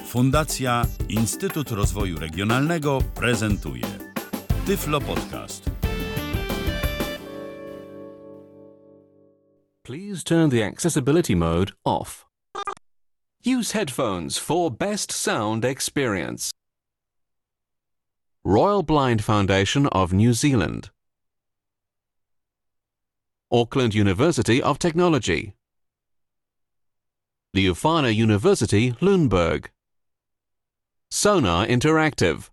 Fundacja Instytut Rozwoju Regionalnego prezentuje Tyflo Podcast. Please turn the accessibility mode off. Use headphones for best sound experience. Royal Blind Foundation of New Zealand. Auckland University of Technology. The Ufana University, Lundberg. Sonar Interactive.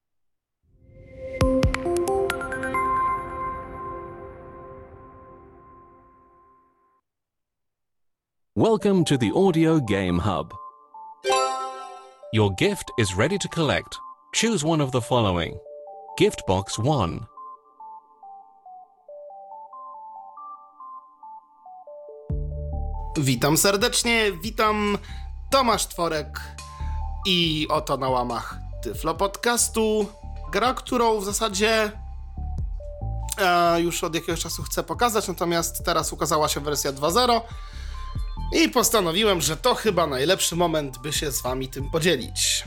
Welcome to the Audio Game Hub. Your gift is ready to collect. Choose one of the following. Gift Box 1. Witam serdecznie, witam Tomasz Tworek i oto na łamach Tyflo Podcastu gra, którą w zasadzie już od jakiegoś czasu chcę pokazać, natomiast teraz ukazała się wersja 2.0 i postanowiłem, że to chyba najlepszy moment, by się z wami tym podzielić.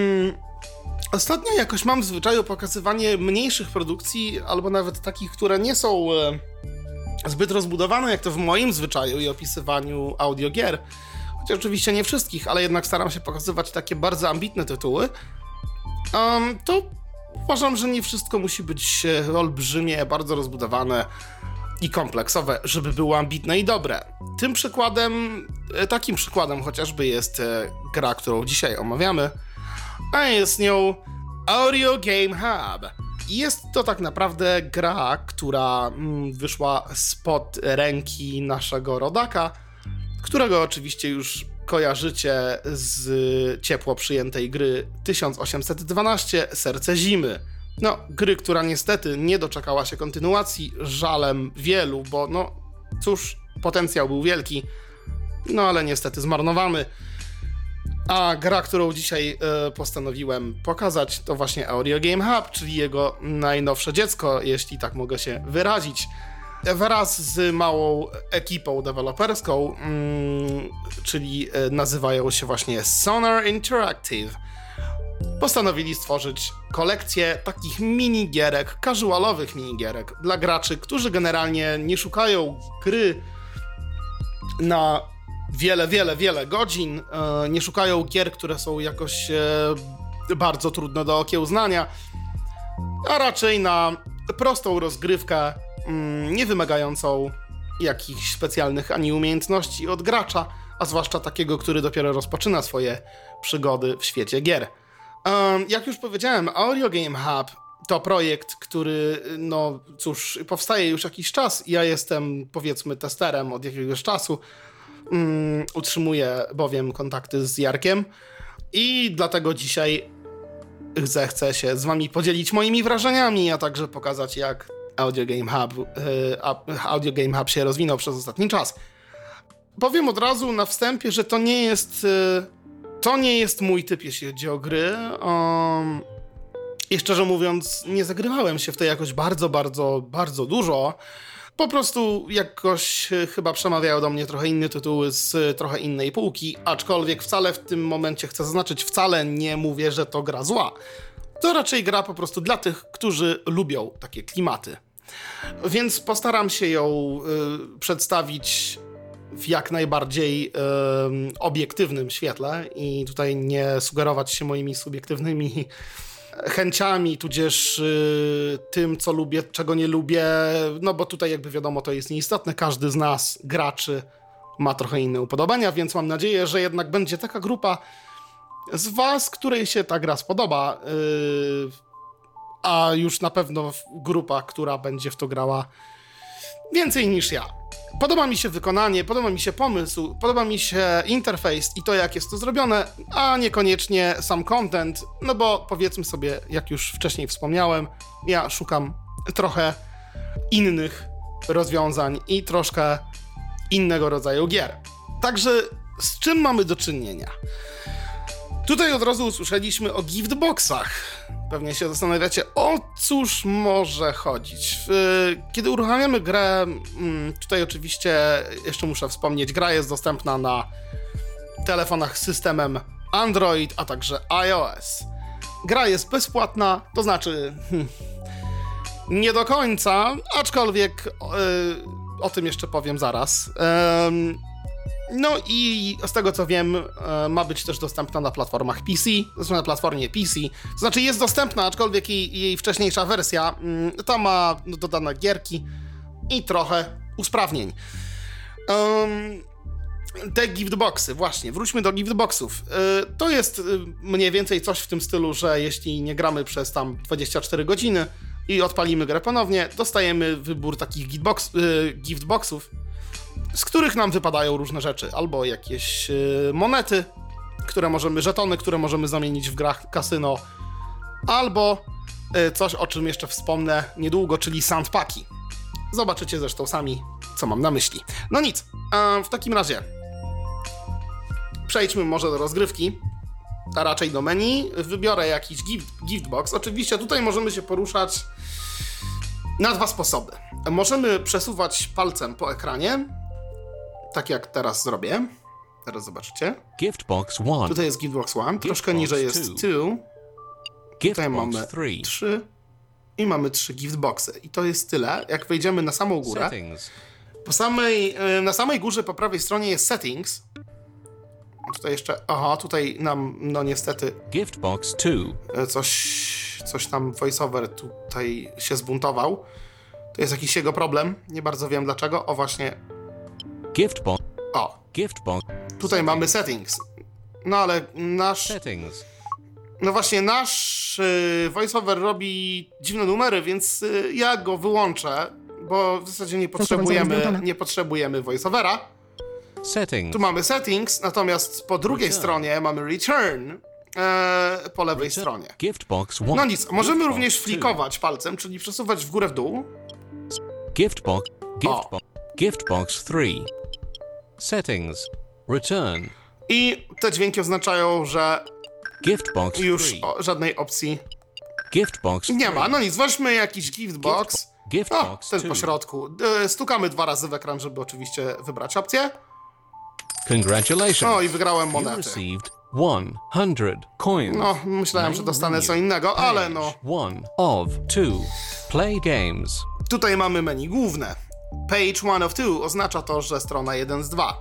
Ostatnio jakoś mam w zwyczaju pokazywanie mniejszych produkcji, albo nawet takich, które nie są zbyt rozbudowane, jak to w moim zwyczaju i opisywaniu audiogier. Chociaż oczywiście nie wszystkich, ale jednak staram się pokazywać takie bardzo ambitne tytuły. To uważam, że nie wszystko musi być olbrzymie, bardzo rozbudowane i kompleksowe, żeby było ambitne i dobre. Takim przykładem chociażby jest gra, którą dzisiaj omawiamy, a jest nią Audio Game Hub. Jest to tak naprawdę gra, która wyszła spod ręki naszego rodaka, którego oczywiście już kojarzycie z ciepło przyjętej gry 1812 Serce Zimy. No, gry, która niestety nie doczekała się kontynuacji, żalem wielu, bo no cóż, potencjał był wielki, no ale niestety zmarnowany. A gra, którą dzisiaj postanowiłem pokazać, to właśnie Audio Game Hub, czyli jego najnowsze dziecko, jeśli tak mogę się wyrazić. Wraz z małą ekipą deweloperską, czyli nazywają się właśnie Sonar Interactive, postanowili stworzyć kolekcję takich minigierek, casualowych minigierek dla graczy, którzy generalnie nie szukają gry na wiele godzin, nie szukają gier, które są jakoś bardzo trudne do okiełznania, a raczej na prostą rozgrywkę, nie wymagającą jakichś specjalnych ani umiejętności od gracza, a zwłaszcza takiego, który dopiero rozpoczyna swoje przygody w świecie gier. Jak już powiedziałem, Audio Game Hub to projekt, który, no cóż, powstaje już jakiś czas. Ja jestem, powiedzmy, testerem od jakiegoś czasu. Utrzymuję bowiem kontakty z Jarkiem i dlatego dzisiaj chcę się z wami podzielić moimi wrażeniami, a także pokazać, jak Audio Game Hub się rozwinął przez ostatni czas. Powiem od razu na wstępie, że to nie jest mój typ, jeśli chodzi o gry. I szczerze mówiąc, nie zagrywałem się w to jakoś bardzo dużo. Po prostu jakoś chyba przemawiają do mnie trochę inne tytuły z trochę innej półki, aczkolwiek wcale w tym momencie chcę zaznaczyć, wcale nie mówię, że to gra zła. To raczej gra po prostu dla tych, którzy lubią takie klimaty. Więc postaram się ją przedstawić w jak najbardziej obiektywnym świetle i tutaj nie sugerować się moimi subiektywnymi chęciami, tudzież tym, co lubię, czego nie lubię, no bo tutaj jakby wiadomo, to jest nieistotne. Każdy z nas, graczy, ma trochę inne upodobania, więc mam nadzieję, że jednak będzie taka grupa z was, której się ta gra spodoba, a już na pewno grupa, która będzie w to grała więcej niż ja. Podoba mi się wykonanie, podoba mi się pomysł, podoba mi się interfejs i to, jak jest to zrobione, a niekoniecznie sam content, no bo powiedzmy sobie, jak już wcześniej wspomniałem, ja szukam trochę innych rozwiązań i troszkę innego rodzaju gier. Także z czym mamy do czynienia? Tutaj od razu usłyszeliśmy o giftboxach. Pewnie się zastanawiacie, o cóż może chodzić. Kiedy uruchamiamy grę, tutaj oczywiście jeszcze muszę wspomnieć, gra jest dostępna na telefonach z systemem Android, a także iOS. Gra jest bezpłatna, to znaczy nie do końca, aczkolwiek o tym jeszcze powiem zaraz. No i z tego co wiem, ma być też dostępna na platformach PC, zresztą na platformie PC. To znaczy jest dostępna, aczkolwiek jej wcześniejsza wersja ta ma dodane gierki i trochę usprawnień. Te giftboxy, właśnie, wróćmy do giftboxów. To jest mniej więcej coś w tym stylu, że jeśli nie gramy przez tam 24 godziny i odpalimy grę ponownie, dostajemy wybór takich giftboxów, z których nam wypadają różne rzeczy. Albo jakieś monety, żetony, które możemy zamienić w grach kasyno, albo coś, o czym jeszcze wspomnę niedługo, czyli sandpaki. Zobaczycie zresztą sami, co mam na myśli. No nic, w takim razie przejdźmy może do rozgrywki, a raczej do menu. Wybiorę jakiś giftbox. Oczywiście tutaj możemy się poruszać na dwa sposoby. Możemy przesuwać palcem po ekranie, tak jak teraz zrobię. Teraz zobaczycie. Giftbox 1. Tutaj jest giftbox 1, troszkę niżej jest 2. Tutaj mamy 3 i mamy 3 giftboxy. I to jest tyle. Jak wejdziemy na samą górę, na samej górze po prawej stronie jest settings. Tutaj jeszcze, tutaj nam, no niestety, Giftbox 2. Coś tam voiceover tutaj się zbuntował. To jest jakiś jego problem, nie bardzo wiem dlaczego. O właśnie. Giftbox. Giftbox. Tutaj mamy settings. No ale Settings. No właśnie, nasz voiceover robi dziwne numery, więc ja go wyłączę, bo w zasadzie nie potrzebujemy voiceovera. Settings. Tu mamy settings, natomiast po drugiej stronie mamy return po lewej stronie. Giftbox 1. No nic, możemy również flikować palcem, czyli przesuwać w górę w dół. Giftbox 3. Settings. Return. I te dźwięki oznaczają, że Giftbox już 3. żadnej opcji Giftbox nie 3. ma. No nic, weźmy jakiś giftbox. Ten po środku. Stukamy 2 razy w ekran, żeby oczywiście wybrać opcję. Congratulations. I wygrałem You monety. received 100 coins. No, myślałem, że dostanę co innego, ale no. 1 of 2. Play games. Tutaj mamy menu główne. Page 1 of 2 oznacza to, że strona 1 z 2.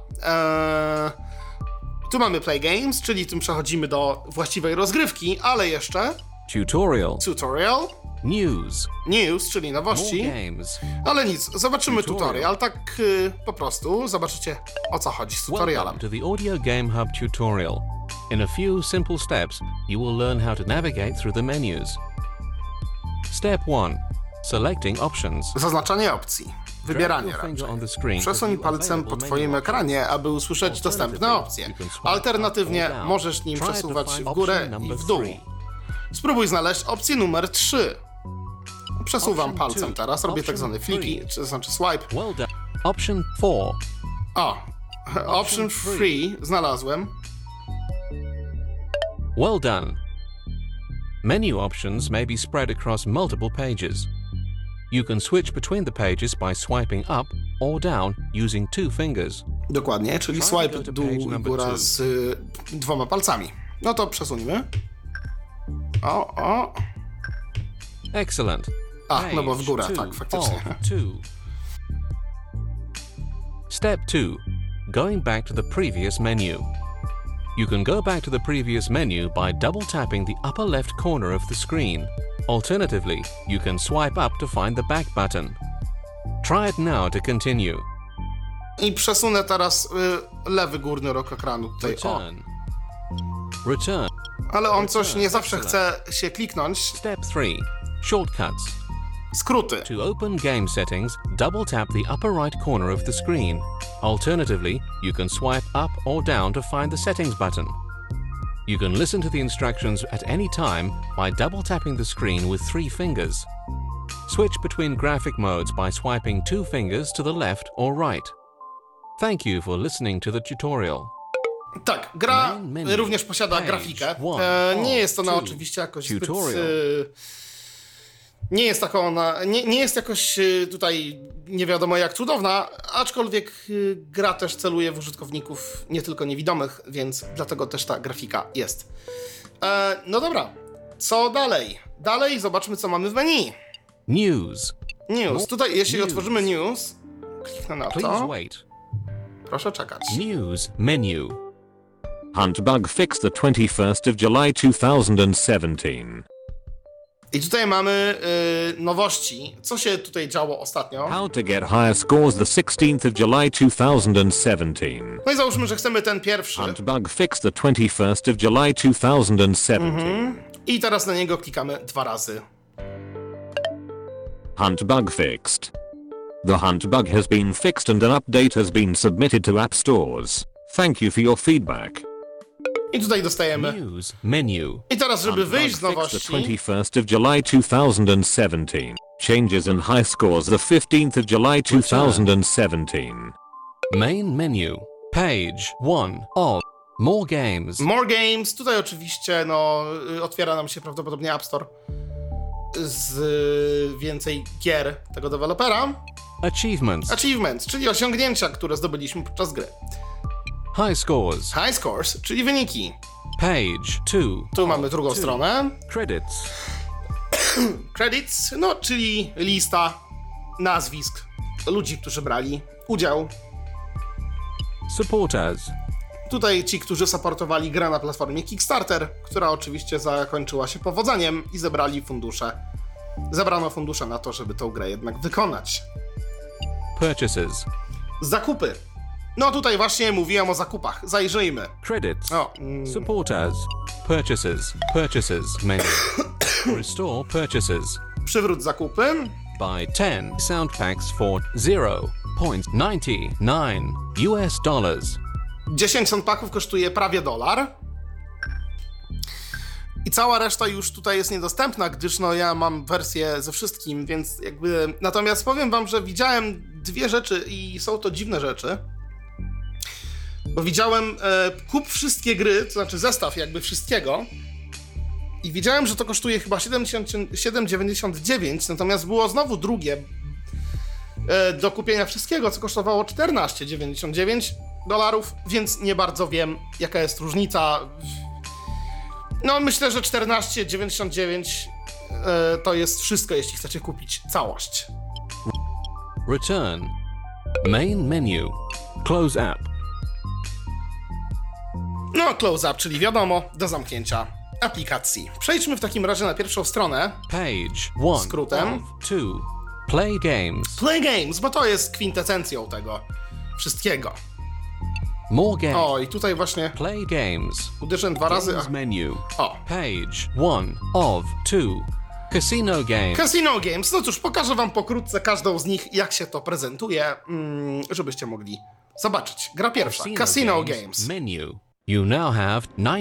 Tu mamy play games, czyli tym przechodzimy do właściwej rozgrywki, ale jeszcze tutorial, news, czyli nowości, ale nic, zobaczymy tutorial, tak po prostu, zobaczycie o co chodzi z tutorialem. Welcome to the Audio Game Hub tutorial. In a few simple steps, you will learn how to navigate through the menus. Step 1. Selecting options. Zaznaczanie opcji. Wybieranie raczej. Przesuń palcem po twoim ekranie, aby usłyszeć dostępne opcje. Alternatywnie możesz nim przesuwać w górę i w dół. Spróbuj znaleźć opcję numer 3. Przesuwam palcem teraz, robię tak zwane fliki, to znaczy swipe. Option 4. Option 3 znalazłem. Well done. Menu options may be spread across multiple pages. You can switch between the pages by swiping up or down using 2 fingers. Dokładnie, czyli swipe dół i góra z 2 palcami. No to przesuńmy. Excellent. No bo w górę, tak, faktycznie. Step 2. Going back to the previous menu. You can go back to the previous menu by double tapping the upper left corner of the screen. Alternatively, you can swipe up to find the back button. Try it now to continue. I przesunę teraz lewy górny róg ekranu tutaj. Return. Ale on coś nie zawsze chce się kliknąć. Step 3. Shortcuts. Skróty. To open game settings, double tap the upper right corner of the screen. Alternatively, you can swipe up or down to find the settings button. You can listen to the instructions at any time by double tapping the screen with 3 fingers. Switch between graphic modes by swiping 2 fingers to the left or right. Thank you for listening to the tutorial. Tak, gra również posiada grafikę. Nie jest ona oczywiście jakoś zbyt Nie jest taka ona, nie jest jakoś tutaj nie wiadomo jak cudowna, aczkolwiek gra też celuje w użytkowników nie tylko niewidomych, więc dlatego też ta grafika jest. No dobra, co dalej? Dalej zobaczmy, co mamy w menu. News. News. Tutaj, jeśli News. otworzymy news, kliknę na Please to. wait. Proszę czekać. News menu. Hunt bug fixed the 21st of July 2017. I tutaj mamy nowości. Co się tutaj działo ostatnio? How to get higher scores the 16th of July 2017. No i załóżmy, że chcemy ten pierwszy. Hunt bug fixed the 21st of July 2017. I teraz na niego klikamy 2 razy. Hunt bug fixed. The hunt bug has been fixed and an update has been submitted to app stores. Thank you for your feedback. I tutaj dostajemy. News menu. I teraz, żeby Hunt bug wyjść z fixed nowości, the 21st of July 2017. Changes in high scores the 15th of July 2017. Main menu. Page 1 of More Games. More Games. Tutaj oczywiście no, otwiera nam się prawdopodobnie App Store z więcej gier tego dewelopera. Achievements. Achievements, czyli osiągnięcia, które zdobyliśmy podczas gry. High scores. High Scores, czyli wyniki. Page 2. Tu mamy drugą stronę. Credits. Credits, no czyli lista nazwisk ludzi, którzy brali udział. Supporters. Tutaj ci, którzy supportowali grę na platformie Kickstarter, która oczywiście zakończyła się powodzeniem i zebrano fundusze na to, żeby tą grę jednak wykonać. Purchases. Zakupy. No tutaj właśnie mówiłem o zakupach. Zajrzyjmy. Credits. O, Supporters. Purchases. Purchases menu. Restore purchases. przywróć zakupy. Buy 10 sound packs for $0.99 US. 10 soundpacków kosztuje prawie $1. I cała reszta już tutaj jest niedostępna, gdyż no ja mam wersję ze wszystkim, więc jakby... Natomiast powiem wam, że widziałem 2 rzeczy i są to dziwne rzeczy. Bo widziałem kup wszystkie gry, to znaczy zestaw jakby wszystkiego. I widziałem, że to kosztuje chyba 7,99, natomiast było znowu drugie do kupienia wszystkiego, co kosztowało $14,99, więc nie bardzo wiem, jaka jest różnica. No myślę, że 14,99 to jest wszystko, jeśli chcecie kupić całość. Return. Main menu. Close app. No, close up, czyli wiadomo, do zamknięcia aplikacji. Przejdźmy w takim razie na pierwszą stronę. Page 1 Skrótem. of 2. Play games. Play Games, bo to jest kwintesencją tego wszystkiego. More games. O, i tutaj właśnie Play games. uderzę 2 razy. Games menu. O, Page 1 of 2. Casino games. Casino Games. No cóż, pokażę wam pokrótce każdą z nich, jak się to prezentuje, żebyście mogli zobaczyć. Gra pierwsza. Casino Games. Menu. You now have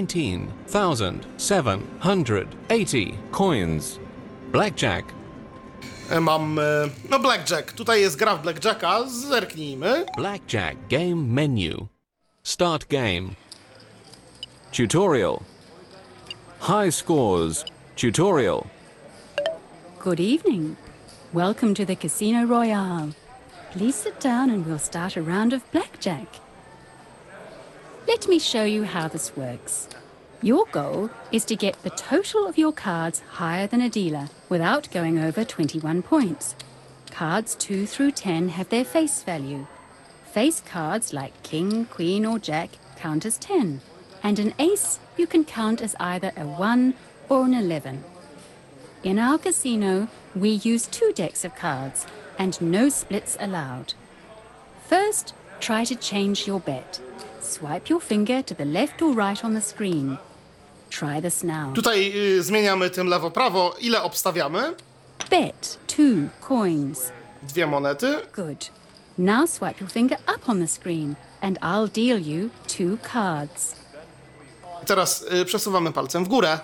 19,780 coins. Blackjack. Mam, no Blackjack. Tutaj jest gra w Blackjacka. Zerknijmy. Blackjack game menu. Start game. Tutorial. High scores. Tutorial. Good evening. Welcome to the Casino Royale. Please sit down and we'll start a round of blackjack. Let me show you how this works. Your goal is to get the total of your cards higher than a dealer without going over 21 points. Cards 2 through 10 have their face value. Face cards like King, Queen or Jack count as 10. And an ace you can count as either a 1 or an 11. In our casino, we use 2 decks of cards and no splits allowed. First, try to change your bet. Swipe your finger to the left or right on the screen. Try this now. Tutaj zmieniamy tym lewo-prawo. Ile obstawiamy? Bet 2 coins. 2 monety. Good. Now swipe your finger up on the screen and I'll deal you 2 cards. Teraz przesuwamy palcem w górę.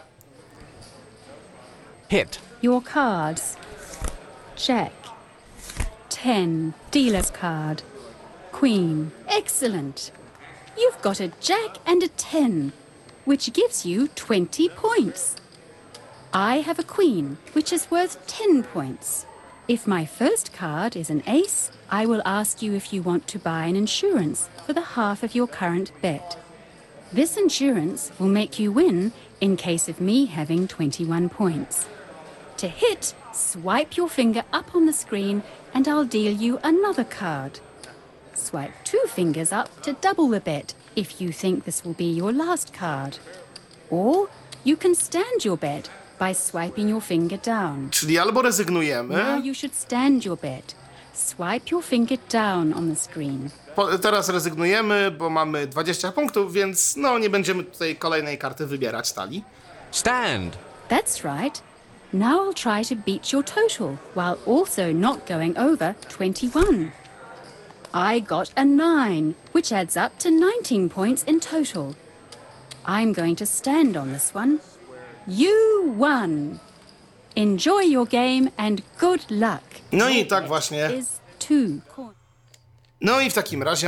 Hit. Your cards. Jack. 10. Dealer's card. Queen. Excellent. You've got a Jack and a 10, which gives you 20 points. I have a queen, which is worth 10 points. If my first card is an ace, I will ask you if you want to buy an insurance for the half of your current bet. This insurance will make you win in case of me having 21 points. To hit, swipe your finger up on the screen and I'll deal you another card. Swipe 2 fingers up to double the bet if you think this will be your last card. Or you can stand your bet by swiping your finger down. Czyli albo rezygnujemy. Now you should stand your bet. Swipe your finger down on the screen. Teraz rezygnujemy, bo mamy 20 punktów, więc no nie będziemy tutaj kolejnej karty wybierać stali. Stand. That's right. Now I'll try to beat your total while also not going over 21. I got a 9, which adds up to 19 points in total. I'm going to stand on this one. You won. Enjoy your game and good luck. No i tak właśnie. Is 2 coins. No i w takim razie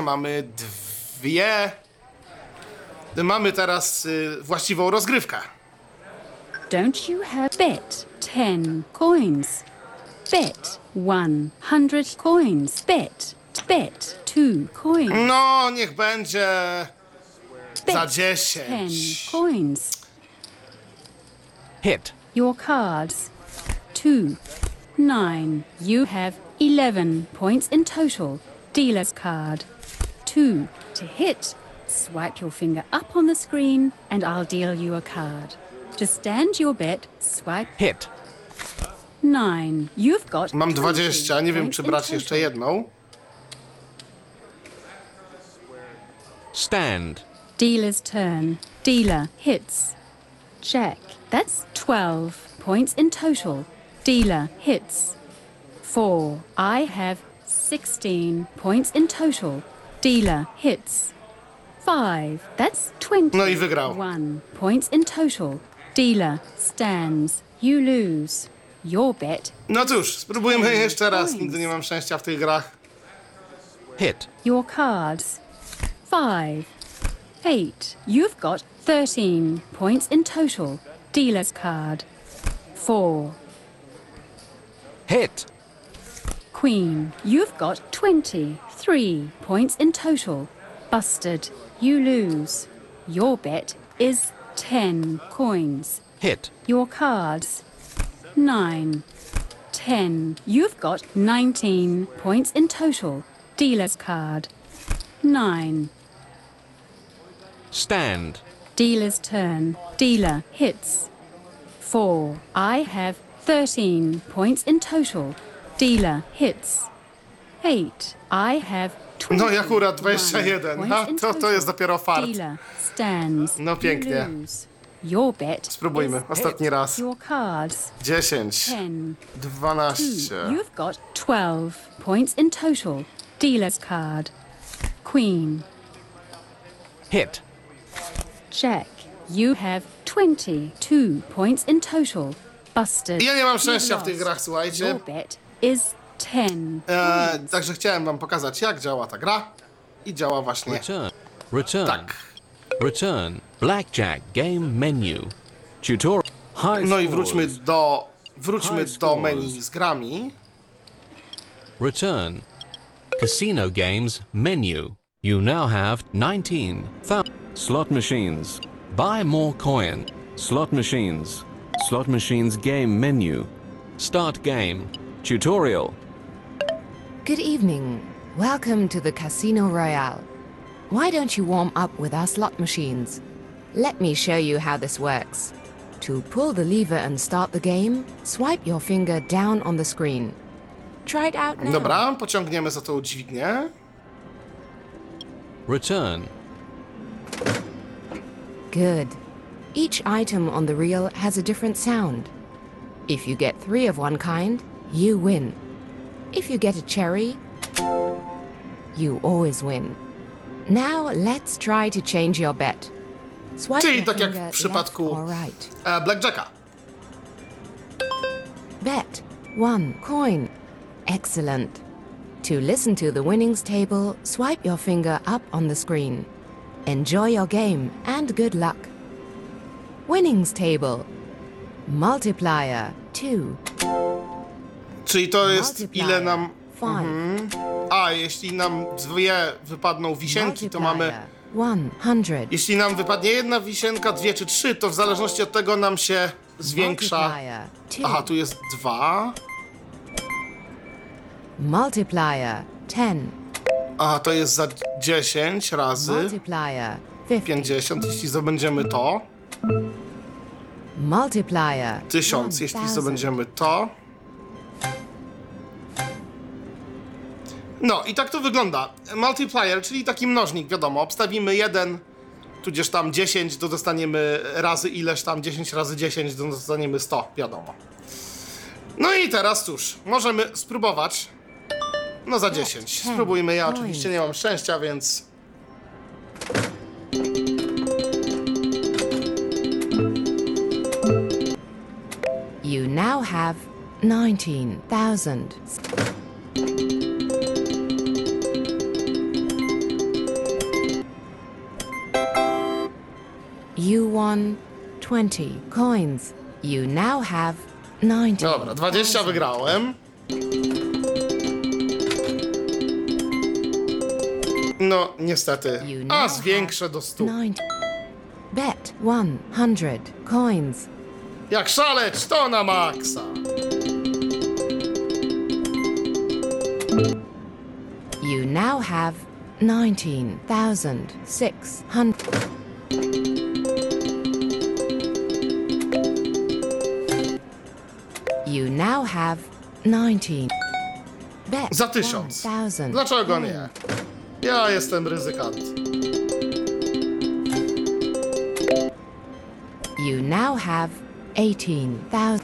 mamy teraz właściwą rozgrywkę. Don't you have bet 10 coins? Bet 100 coins. Bet 2 coins. No, niech będzie za Bet 10 10. coins. Hit. Your cards 2, 9. You have 11 points in total. Dealer's card 2. To hit, swipe your finger up on the screen and I'll deal you a card. To stand your bet, swipe Hit. 9. You've got Mam 20 20, nie wiem points czy in brać total. jeszcze jedną. Stand. Dealer's turn. Dealer hits. Jack. That's 12 points in total. Dealer hits. 4. I have 16 points in total. Dealer hits. 5. That's 20. No i wygrał. 1 points in total. Dealer stands. You lose. Your bet. No cóż, spróbujmy jeszcze raz. Nigdy nie mam szczęścia w tych grach. Hit. Your cards 5, 8. You've got 13 points in total. Dealer's card 4. Hit. Queen. You've got 23 points in total. Busted. You lose. Your bet is 10 coins. Hit. Your cards 9, 10. You've got 19 points in total. Dealer's card 9. Stand. Dealer's turn. Dealer hits. 4. I have 13 points in total. Dealer hits. 8. I have 20. No i akurat 21. Ha, to jest dopiero fart. Dealer stands. No pięknie. You lose. Your bet. Spróbujmy. is Ostatni raz. Your cards 10, 10. 12. You've got 12 points in total. Dealer's card. Queen. Hit. Jack. You have 22 points in total. Busted. Ja nie mam You've szczęścia w tych lost. grach, słuchajcie. Your bet is 10. Także chciałem wam pokazać, jak działa ta gra. I działa właśnie Return. Return. tak. Return. Blackjack game menu. Tutorial. High No i scores. wróćmy do menu z grami. Return. Casino games menu. You now have 19,000 slot machines. Buy more coin. Slot machines. Slot machines game menu. Start game. Tutorial. Good evening. Welcome to the Casino Royale. Why don't you warm up with our slot machines? Let me show you how this works. To pull the lever and start the game, swipe your finger down on the screen. Try it out now. Dobra, pociągniemy za tą dźwignię. Return. Good. Each item on the reel has a different sound. If you get 3 of one kind, you win. If you get a cherry, you always win. Now let's try to change your bet. Swipe Czyli your tak jak finger w przypadku left or right. Blackjacka. Bet 1 coin. Excellent. To listen to the winnings table, swipe your finger up on the screen. Enjoy your game and good luck. Winnings table. Multiplier 2. Czyli to jest Multiplier ile nam... 5. A, jeśli nam dwie wypadną wisienki, to mamy... 100. Jeśli nam wypadnie jedna wisienka, dwie czy trzy, to w zależności od tego nam się zwiększa... Multiplier 2. Aha, tu jest 2. Multiplier 10. Aha, to jest za 10 razy Multiplier 50. 50, jeśli zdobędziemy to. Multiplier 1000, jeśli 1000. zdobędziemy to. No i tak to wygląda. Multiplier, czyli taki mnożnik, wiadomo. Obstawimy 1, tudzież tam 10, to dostaniemy razy ileś tam, 10 razy 10, to dostaniemy 100, wiadomo. No i teraz cóż, możemy spróbować. No za 10. Spróbujmy, ja oczywiście nie mam szczęścia, więc... You now have 19,000. You won 20 coins. You now have 90. Dobra, 20 wygrałem. No, niestety. You A, now zwiększę do 100. 90. Bet 100 coins. Jak szaleć, to na maksa. You now have 19,600. You now have 19. Bet Za 1000. 1,000. Dlaczego nie? Ja jestem ryzykant. You now have 18,000.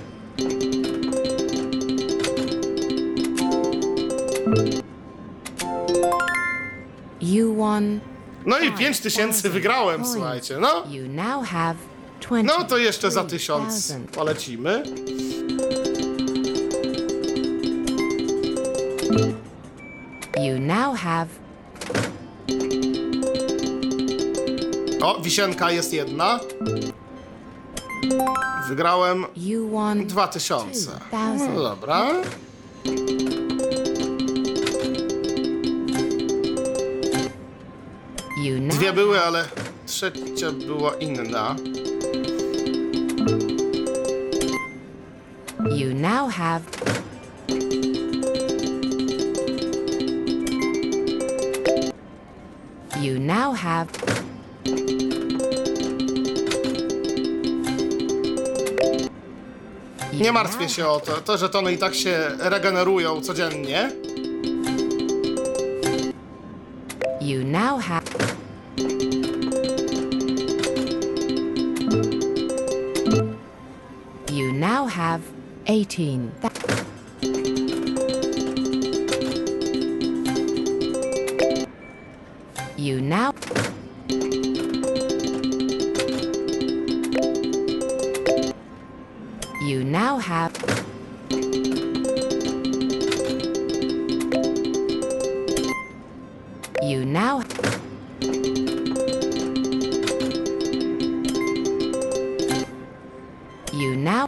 You won. No i 5000 wygrałem, coins. słuchajcie. No, You now have 20. no to jeszcze za 1000 polecimy. You now have. O, wisienka jest jedna. Wygrałem You won 2000. 2,000. No dobra. You now Dwie były, ale trzecia była inna. You now have. You now have. Nie martwię się o to. Te żetony i tak się regenerują codziennie. You now have. You now have 18. You now. You now have. You now. You now.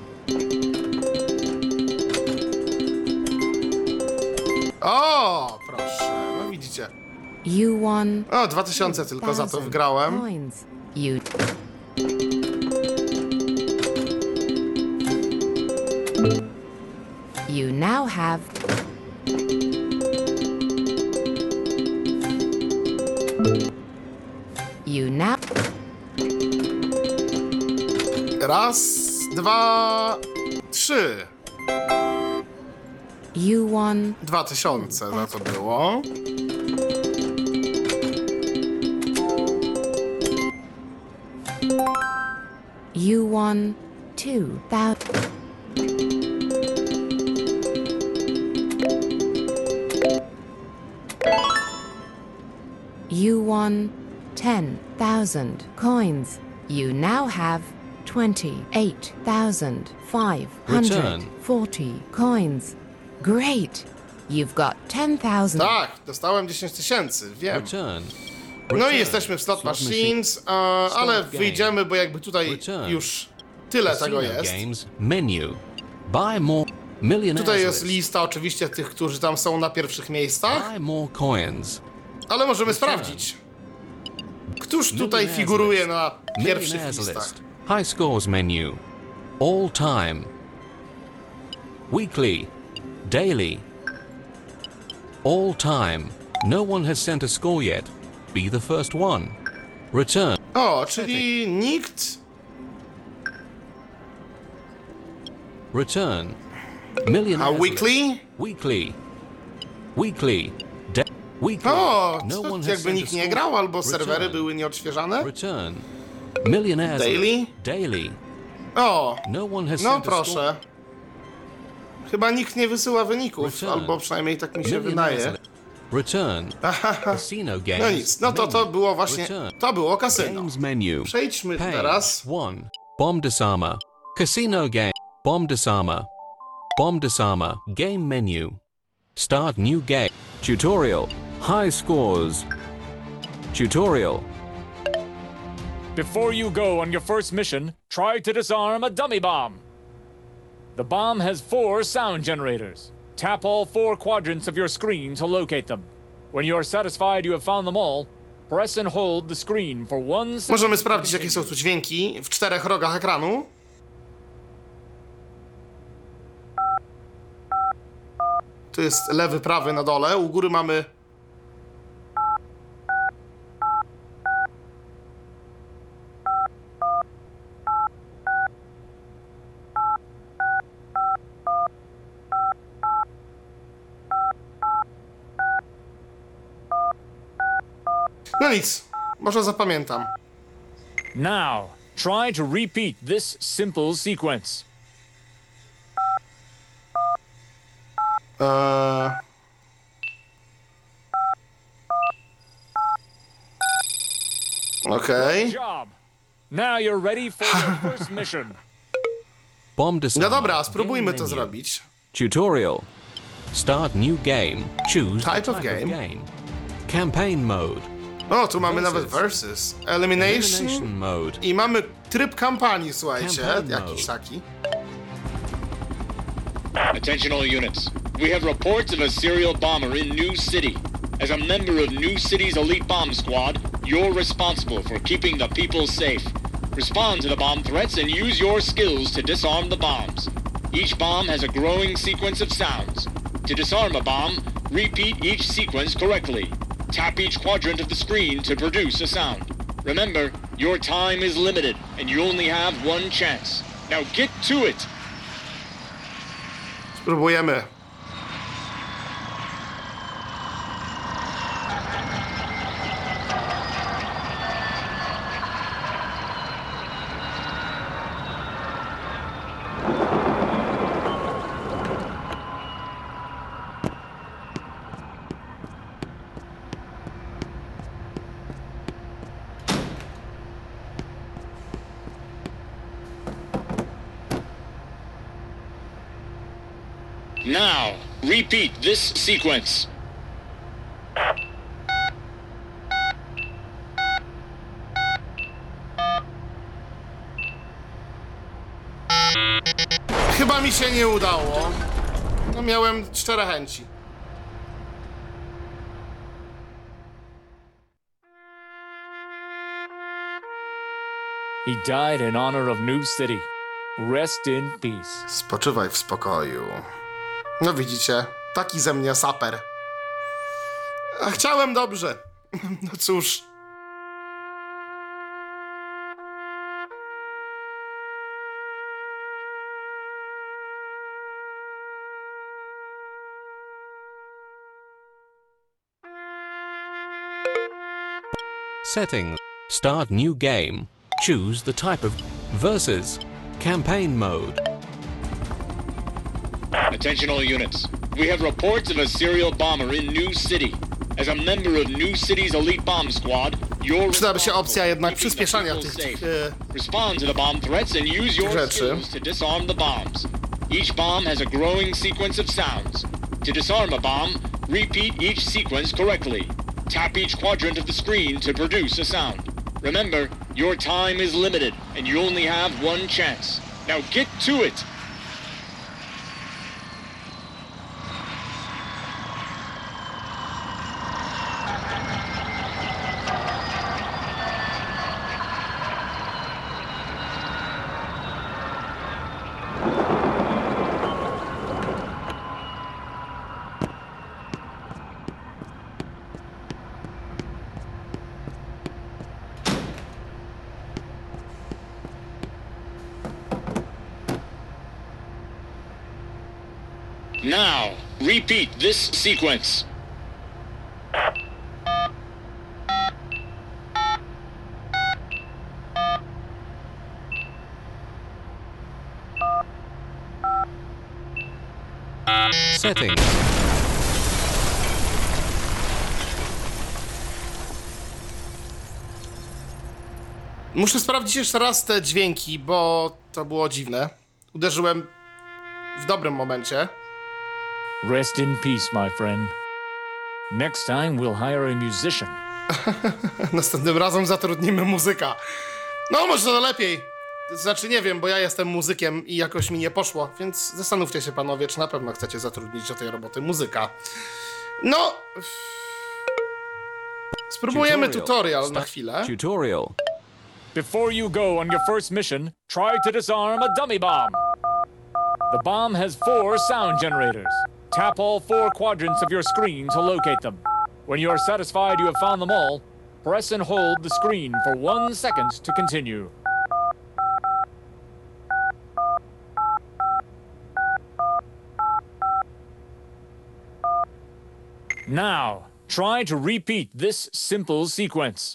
O, proszę. No widzicie. You won. O, 2000 tylko za to wygrałem. Coins. You. You now have. You now. Raz, dwa, trzy. You won. 2000 za to było. You won 2,000. You won 10,000 coins. You now have 28,540 coins. Great! You've got 10,000. Tak, dostałem 10 000, wiem. Return. No i jesteśmy w Slot Machines, ale Start game. wyjdziemy, bo jakby tutaj Return. już Tyle tego Casino jest. Games menu. Buy more millionaires Tutaj jest list. lista oczywiście tych, którzy tam są na pierwszych miejscach, Buy more coins. ale możemy sprawdzić. Któż tutaj figuruje na pierwszych Millionaires listach? list. High scores menu. All time. Weekly. Daily. All time. No one has sent a score yet. Be the first one. Return. O, czyli nikt... Return. A Millionaires weekly? list. Weekly. Weekly. Weekly. O, No one has jakby sent a nikt nie score. grał, albo Return. serwery były nieodświeżane. Return. Millionaires Daily? list. Daily. O, No one has no sent a score. proszę. Chyba nikt nie wysyła wyników, Return. albo przynajmniej tak mi się Millionaires wydaje. list. Return. Casino games. No nic, no to menu. było właśnie, Return. to było kasyno. Games menu. Przejdźmy Page teraz. 1. Bomb disarmer. Casino game. Bomb disarmer. Bomb disarmer. Game menu. Start new game. Tutorial. High scores. Tutorial. Before you go on your first mission, try to disarm a dummy bomb. The bomb has 4 sound generators. Tap all 4 quadrants of your screen to locate them. When you are satisfied you have found them all, press and hold the screen for 1 second. Możemy sprawdzić, jakie są tu dźwięki w 4 rogach ekranu. Tu jest lewy, prawy na dole. U góry mamy... No nic, może zapamiętam. Now, try to repeat this simple sequence. Okej. Good job. Now you're ready for your first mission. Bomb disarmer. No dobra, spróbujmy Game to menu. zrobić. Tutorial. Start new game. Choose Type the of game. Campaign mode. O, tu mamy nawet versus. Elimination Elimination. mode. I mamy tryb kampanii, słuchajcie. Campaign Jakiś mode. taki. Attention all units. We have reports of a serial bomber in New City. As a member of New City's elite bomb squad, you're responsible for keeping the people safe. Respond to the bomb threats and use your skills to disarm the bombs. Each bomb has a growing sequence of sounds. To disarm a bomb, repeat each sequence correctly. Tap each quadrant of the screen to produce a sound. Remember, your time is limited and you only have 1 chance. Now get to it! Spróbujemy. Now, repeat this sequence. Chyba mi się nie udało. No miałem 4 chęci. He died in honor of New City. Rest in peace. Spoczywaj w spokoju. No widzicie, taki ze mnie saper. A chciałem dobrze. No cóż. Settings. Start new game. Choose the type of versus. Campaign mode. Attention all units. We have reports of a serial bomber in New City. As a member of New City's elite bomb squad, you're Przydałaby się opcja jednak responsible for przyspieszania keeping the tych people safe. Respond to the bomb threats and use your rzeczy. skills to disarm the bombs. Each bomb has a growing sequence of sounds. To disarm a bomb, repeat each sequence correctly. Tap each quadrant of the screen to produce a sound. Remember, Your time is limited, and you only have one chance. Now get to it! Now, repeat this sequence. Settings. Muszę sprawdzić jeszcze raz te dźwięki, bo to było dziwne. Uderzyłem w dobrym momencie. Rest in peace, my friend. Next time we'll hire a musician. Następnym razem zatrudnimy muzyka. No, może to lepiej. Znaczy, nie wiem, bo ja jestem muzykiem i jakoś mi nie poszło, więc zastanówcie się, panowie, czy na pewno chcecie zatrudnić do tej roboty muzyka. No... Spróbujemy tutorial na chwilę. Tutorial. Before you go on your first mission, try to disarm a dummy bomb. The bomb has 4 sound generators. Tap all 4 quadrants of your screen to locate them. When you are satisfied you have found them all, press and hold the screen for 1 second to continue. Now, try to repeat this simple sequence.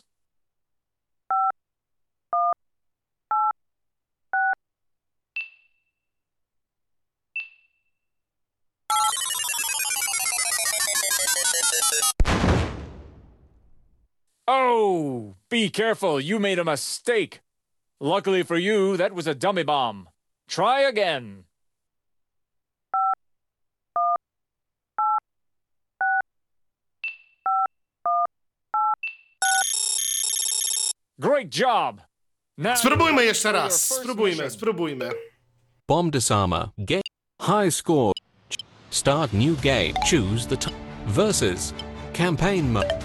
Oh, be careful, you made a mistake. Luckily for you, that was a dummy bomb. Try again. Great job. Now Spróbujmy jeszcze raz. Spróbujmy. Bomb disarmer. Game. High score. Start new game. Choose the versus. Campaign mode.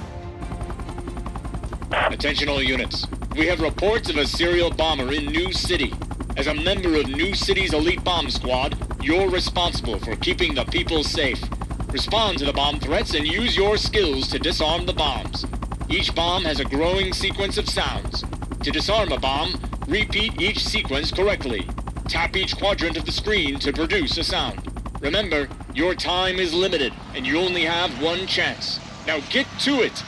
Attention all units. We have reports of a serial bomber in New City. As a member of New City's elite bomb squad, you're responsible for keeping the people safe. Respond to the bomb threats and use your skills to disarm the bombs. Each bomb has a growing sequence of sounds. To disarm a bomb, repeat each sequence correctly. Tap each quadrant of the screen to produce a sound. Remember, your time is limited, and you only have one chance. Now get to it!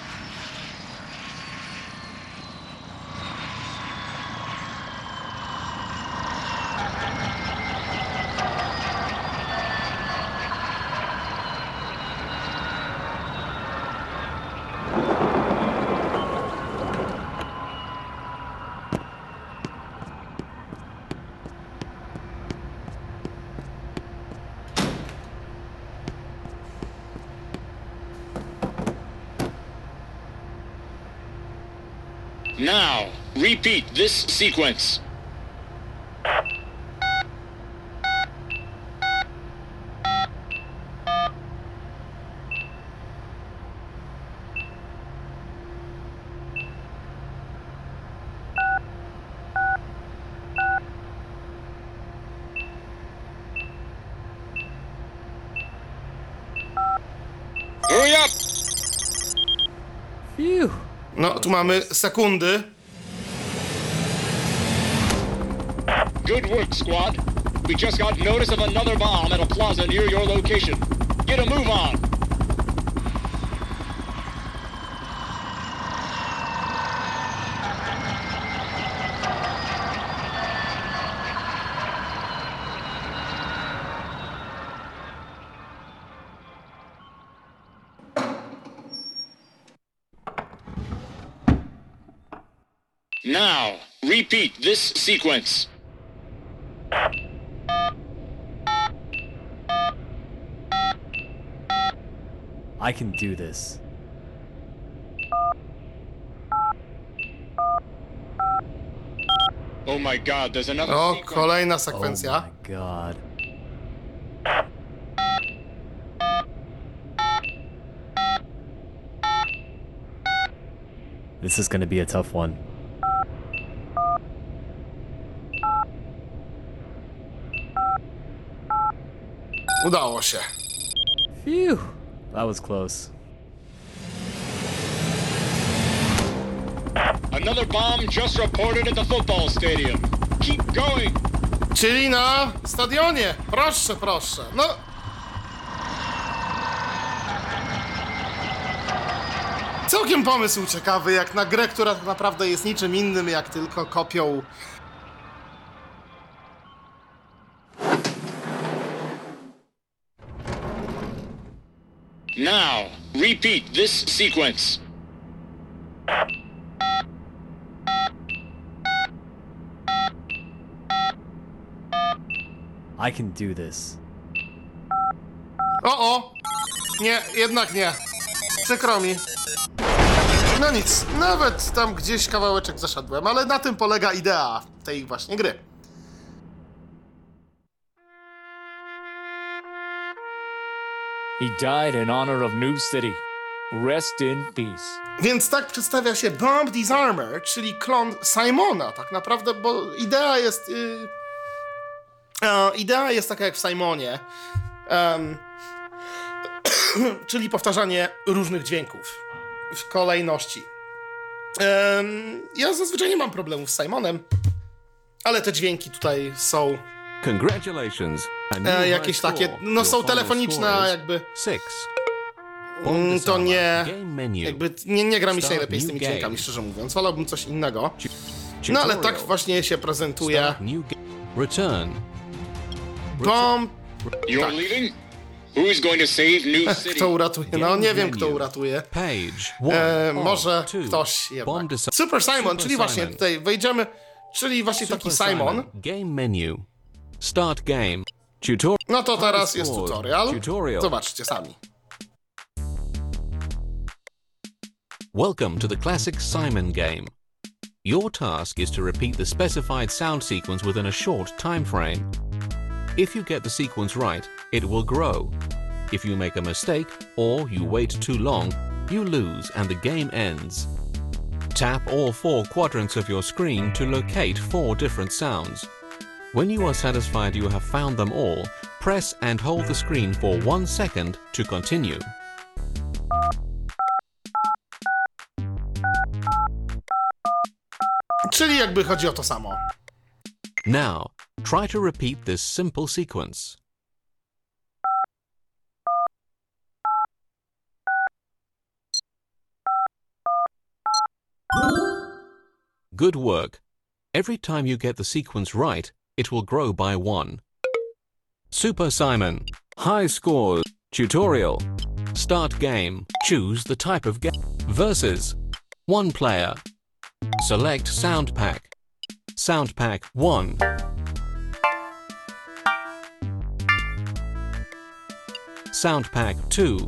Now, repeat this sequence. Hurry up! Phew. No, tu mamy sekundy. Good work, squad. We just got notice of another bomb at a plaza near your location. Get a move on! Now, repeat this sequence. I can do this. Oh my god, there's another O, sequence. kolejna Oh sekwencja. my god. This is gonna be a tough one. Udało się. Phew. That was close. Another bomb just reported at the football stadium. Keep going. Czyli na stadionie. Proszę, proszę. No. Całkiem pomysł ciekawy, jak na grę, która tak naprawdę jest niczym innym, jak tylko kopią. Now, repeat this sequence. I can do this. O! Nie, jednak nie. Przykro mi. No nic, nawet tam gdzieś kawałeczek zaszedłem, ale na tym polega idea tej właśnie gry. He died in honor of New City. Rest in peace. Więc tak przedstawia się Bomb Disarmer, czyli klon Simona tak naprawdę, bo idea jest... idea jest taka jak w Simonie. Czyli powtarzanie różnych dźwięków w kolejności. Ja zazwyczaj nie mam problemów z Simonem, ale te dźwięki tutaj są Congratulations. A new jakieś high takie, score. no Your są final telefoniczne, score is jakby 6. to nie, Game menu. jakby nie gra mi się Start najlepiej z tymi new game. dźwiękami, szczerze mówiąc. Wolałbym coś innego. No ale tak Tutorial. właśnie się prezentuje Start new Return. Bomb. You're Tak. leaving? Who's going to save New City? Kto uratuje? No Game nie wiem, menu. kto uratuje. Page 1. Może 2. ktoś jednak. Bomb Disarmer. Super Simon, Super czyli właśnie Simon. tutaj wejdziemy, czyli właśnie taki Simon. Game menu. Start game. Tutorial. No to teraz jest tutorial. Tutorial. Zobaczcie sami. Welcome to the classic Simon game. Your task is to repeat the specified sound sequence within a short time frame. If you get the sequence right, it will grow. If you make a mistake or you wait too long, you lose and the game ends. Tap all 4 quadrants of your screen to locate 4 different sounds. When you are satisfied you have found them all, press and hold the screen for 1 second to continue. Czyli jakby chodzi o to samo. Now, try to repeat this simple sequence. Good work. Every time you get the sequence right, it will grow by 1. Super Simon. High scores. Tutorial. Start game. Choose the type of game. Versus. 1 player. Select Sound Pack. Sound Pack 1. Sound Pack 2.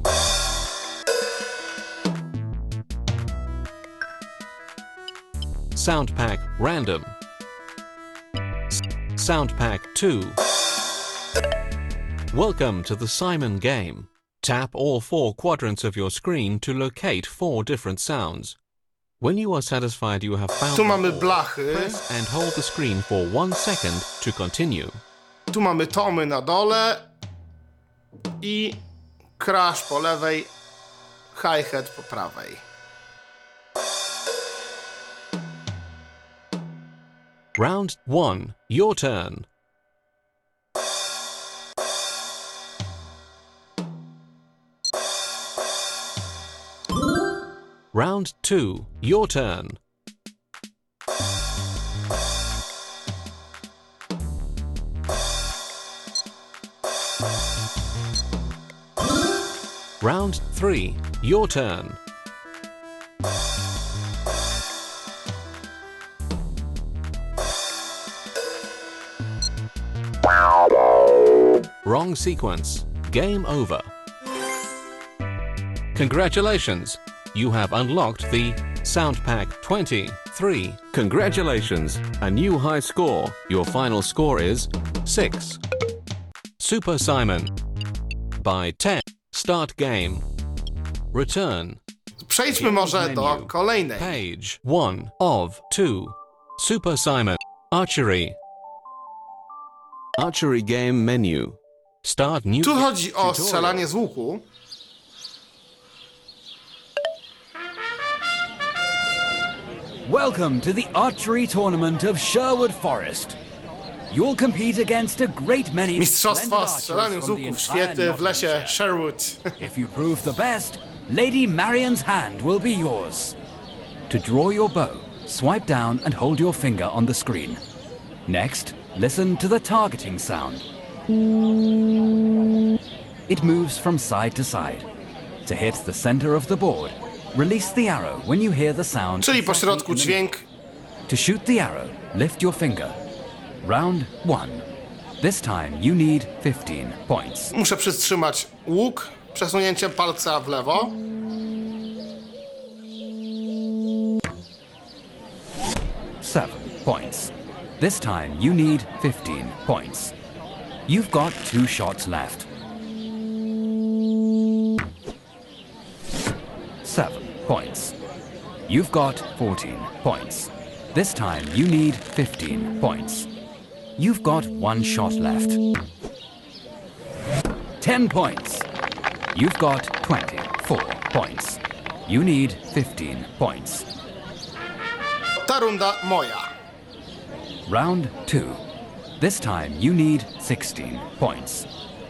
Sound Pack Random. Sound Pack 2. Welcome to the Simon game. Tap all 4 quadrants of your screen to locate 4 different sounds. When you are satisfied you have found Tu them mamy all, blachy, press and hold the screen for 1 second to continue. tu mamy tomy na dole i crash po lewej, hi-hat po prawej. Round 1. Your turn. Round 2. Your turn. Round 3. Your turn. Wrong sequence. Game over. Congratulations! You have unlocked the Sound Pack 20 3. Congratulations! A new high score. Your final score is 6. Super Simon. By 10. Start game. Return. Przejdźmy może do kolejnej. Page 1 of 2. Super Simon. Archery. Archery game menu. Start new. Tu chodzi o strzelanie z łuku. Welcome to the archery tournament of Sherwood Forest. You'll compete against a great many Mistrzostwa strzelania z łuku w świecie w lesie Sherwood. If you prove the best, Lady Marion's hand will be yours. To draw your bow, swipe down and hold your finger on the screen. Next, listen to the targeting sound. It moves from side to side. To hit the center of the board, release the arrow when you hear the sound. Czyli po środku dźwięk. To shoot the arrow, lift your finger. Round 1. This time you need 15 points. Muszę przytrzymać łuk przesunięciem palca w lewo. Seven points. This time you need 15 points. You've got 2 shots left. 7 points. You've got 14 points. This time you need 15 points. You've got 1 shot left. 10 points. You've got 24 points. You need 15 points. Ta runda moja. Round 2. This time you need 16 points.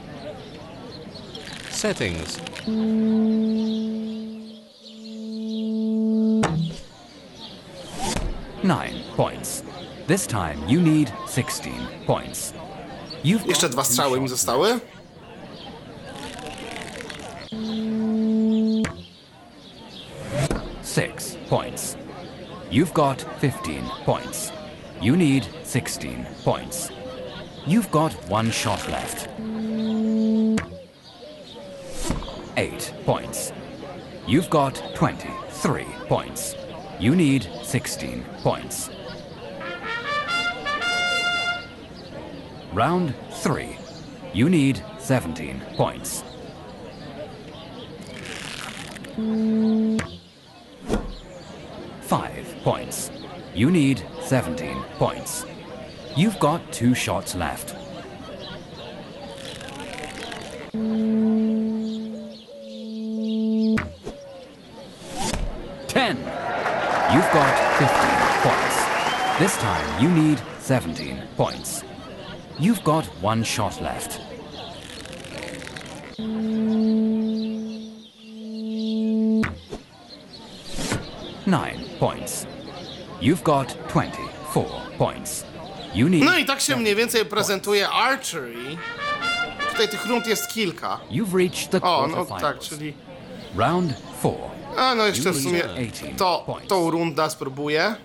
Settings. Nine points. This time you need 16 points. You've Jeszcze 2 strzały mi zostały. Six points. You've got 15 points. You need 16 points. You've got 1 shot left. 8 points. You've got 23 points. You need 16 points. Round 3. You need 17 points. Five points. You need 17 points. You've got 2 shots left. 10. You've got 15 points. This time you need 17 points. You've got 1 shot left. 9 points. You've got 24 points. You need... No i tak się mniej więcej prezentuje archery. Tutaj tych rund jest kilka. You've reached the O, no quarterfinals. tak, czyli... Round 4. A no jeszcze w sumie tą rundę spróbuję.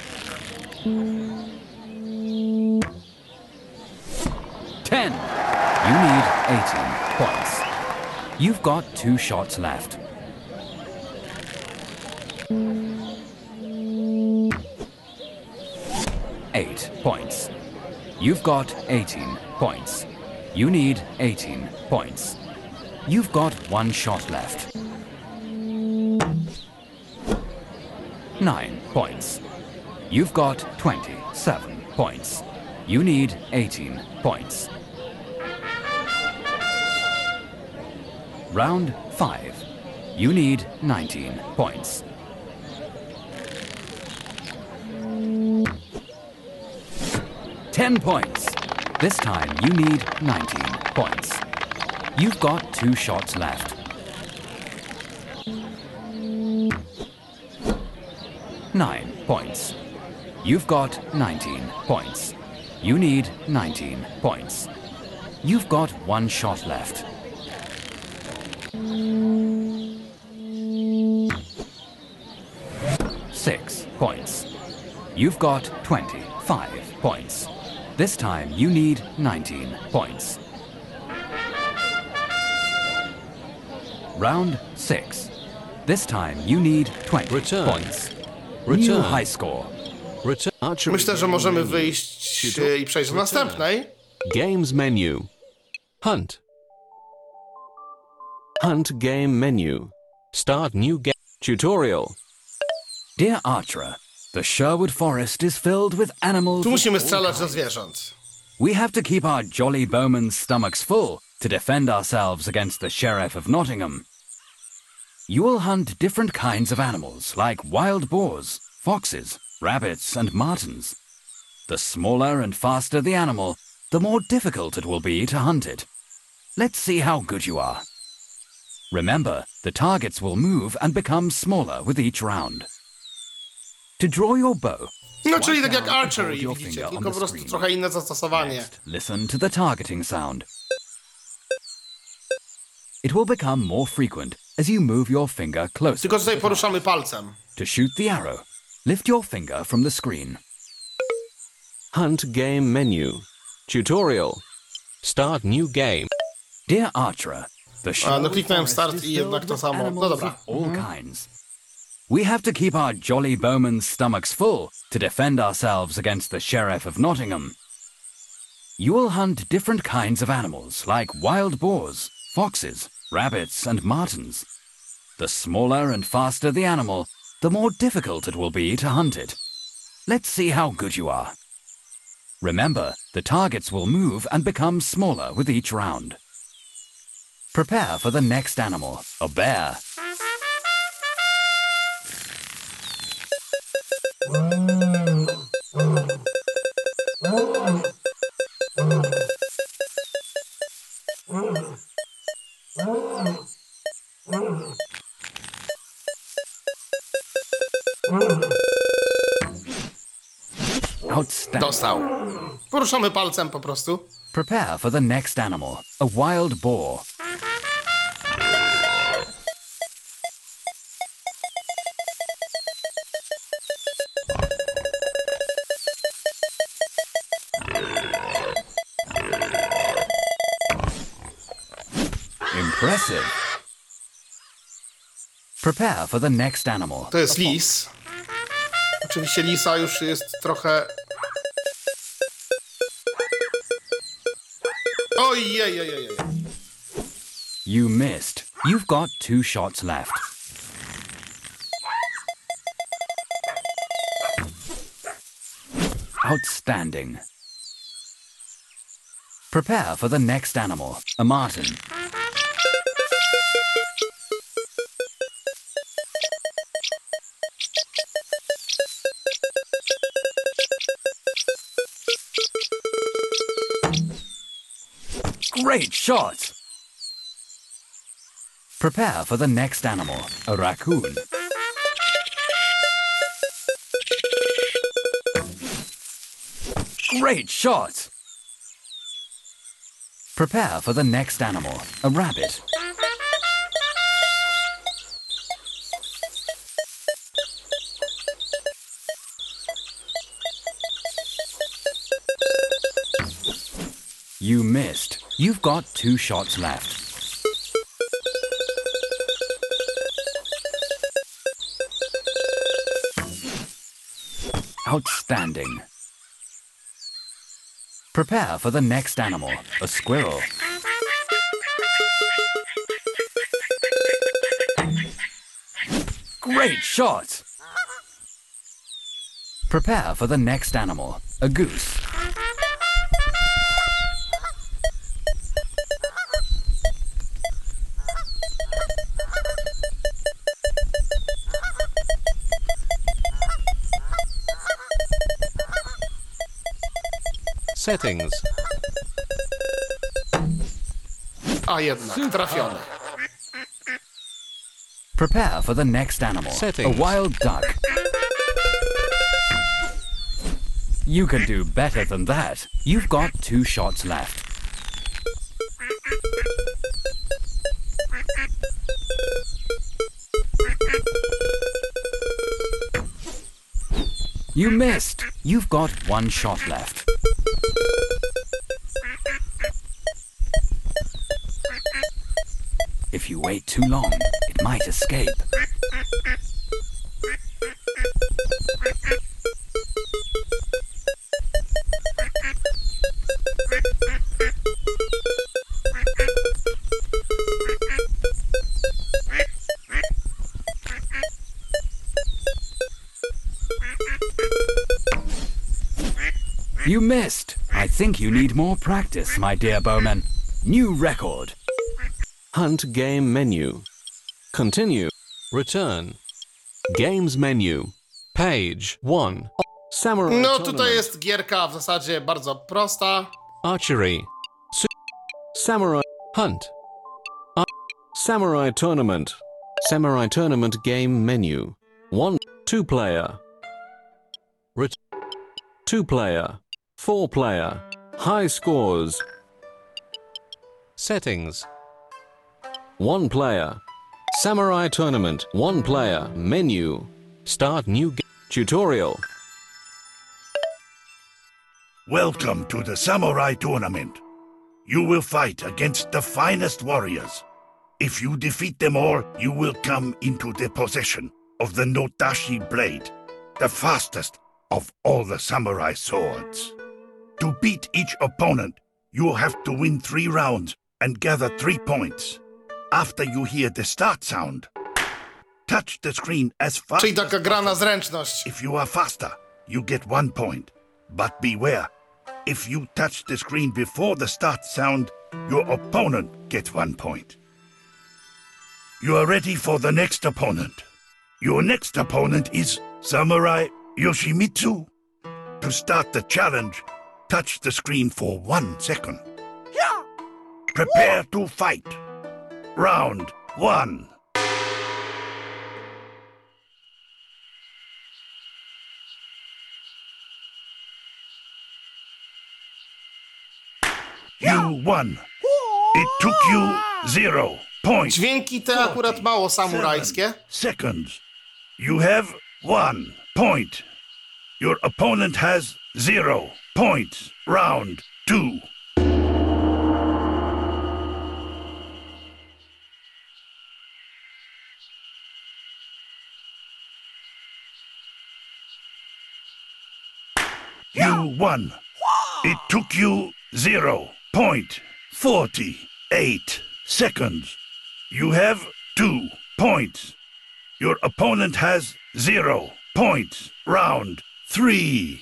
10. You need 18 points. You've got 2 shots left. 8 points. You've got 18 points. You need 18 points. You've got 1 shot left. 9 points. You've got 27 points. You need 18 points. Round 5. You need 19 points. 10 points. This time you need 19 points. You've got 2 shots left. 9 points. You've got 19 points. You need 19 points. You've got 1 shot left. 6 points. You've got 25 points. This time you need 19 points. Round 6. This time you need 20 Return. points. Return. New high score. Myślę, że możemy wyjść i przejść do następnej. Games menu. Hunt. Hunt game menu. Start new game. Tutorial. Dear Archer, the Sherwood Forest is filled with animals. Tu musimy strzelać do zwierząt. We have to keep our jolly bowmen's stomachs full to defend ourselves against the Sheriff of Nottingham. You will hunt different kinds of animals like wild boars, foxes, rabbits, and martens. The smaller and faster the animal, the more difficult it will be to hunt it. Let's see how good you are. Remember, the targets will move and become smaller with each round. To draw your bow, No, czyli tak jak swipe down and archery, hold your widzicie, finger on tylko po the prostu screen. trochę inne zastosowanie. Next, listen to the targeting sound. It will become more frequent as you move your finger closer. Tylko tutaj poruszamy palcem. To shoot the arrow, lift your finger from the screen. Hunt game menu. Tutorial. Start new game. Dear Archer, the no kliknąłem start Forest i is jednak filled to with samo. No animals dobra. of all kinds. We have to keep our jolly bowmen's stomachs full to defend ourselves against the Sheriff of Nottingham. You will hunt different kinds of animals like wild boars, foxes, rabbits, and martens. The smaller and faster the animal, the more difficult it will be to hunt it. Let's see how good you are. Remember, the targets will move and become smaller with each round. Prepare for the next animal, a bear. Outstanding. Dostał. Poruszamy palcem po prostu. Prepare for the next animal, a wild boar. Impressive. Prepare for the next animal. To jest lis. Oczywiście lisa już jest trochę... Ojej. You missed. You've got 2 shots left. Outstanding. Prepare for the next animal, a marten. Great shot! Prepare for the next animal, a raccoon. Great shot! Prepare for the next animal, a rabbit. You missed. You've got 2 shots left. Outstanding. Prepare for the next animal, a squirrel. Great shot! Prepare for the next animal, a goose. Settings. A jednak, trafiony. Prepare for the next animal, Settings. a wild duck. You can do better than that. You've got 2 shots left. You missed. You've got 1 shot left. If you wait too long, it might escape. You missed. I think you need more practice, my dear bowman. New record. Hunt game menu. Continue. Return. Games menu. Page 1. Samurai No Tournament. tutaj jest gierka w zasadzie bardzo prosta. Archery. Samurai Hunt. Samurai Tournament. Samurai Tournament game menu. 1. 2 player. 2 player. 4 player. High scores. Settings. 1 player. Samurai Tournament. 1 player. Menu. Start new tutorial. Welcome to the Samurai Tournament. You will fight against the finest warriors. If you defeat them all, you will come into the possession of the Nodashi blade, the fastest of all the samurai swords. To beat each opponent, you will have to win 3 rounds and gather 3 points. After you hear the start sound, touch the screen as fast Czyli as taka gra na possible. zręczność. If you are faster, you get 1 point. But beware, if you touch the screen before the start sound, your opponent gets 1 point. You are ready for the next opponent. Your next opponent is Samurai Yoshimitsu. To start the challenge, touch the screen for 1 second. Prepare to fight. Round 1. You won. It took you 0 points. Dźwięki te akurat mało samurajskie. Seconds. You have 1 point. Your opponent has 0 points. Round 2. You won. It took you 0 point 48 seconds. You have 2 points. Your opponent has 0 points. Round 3.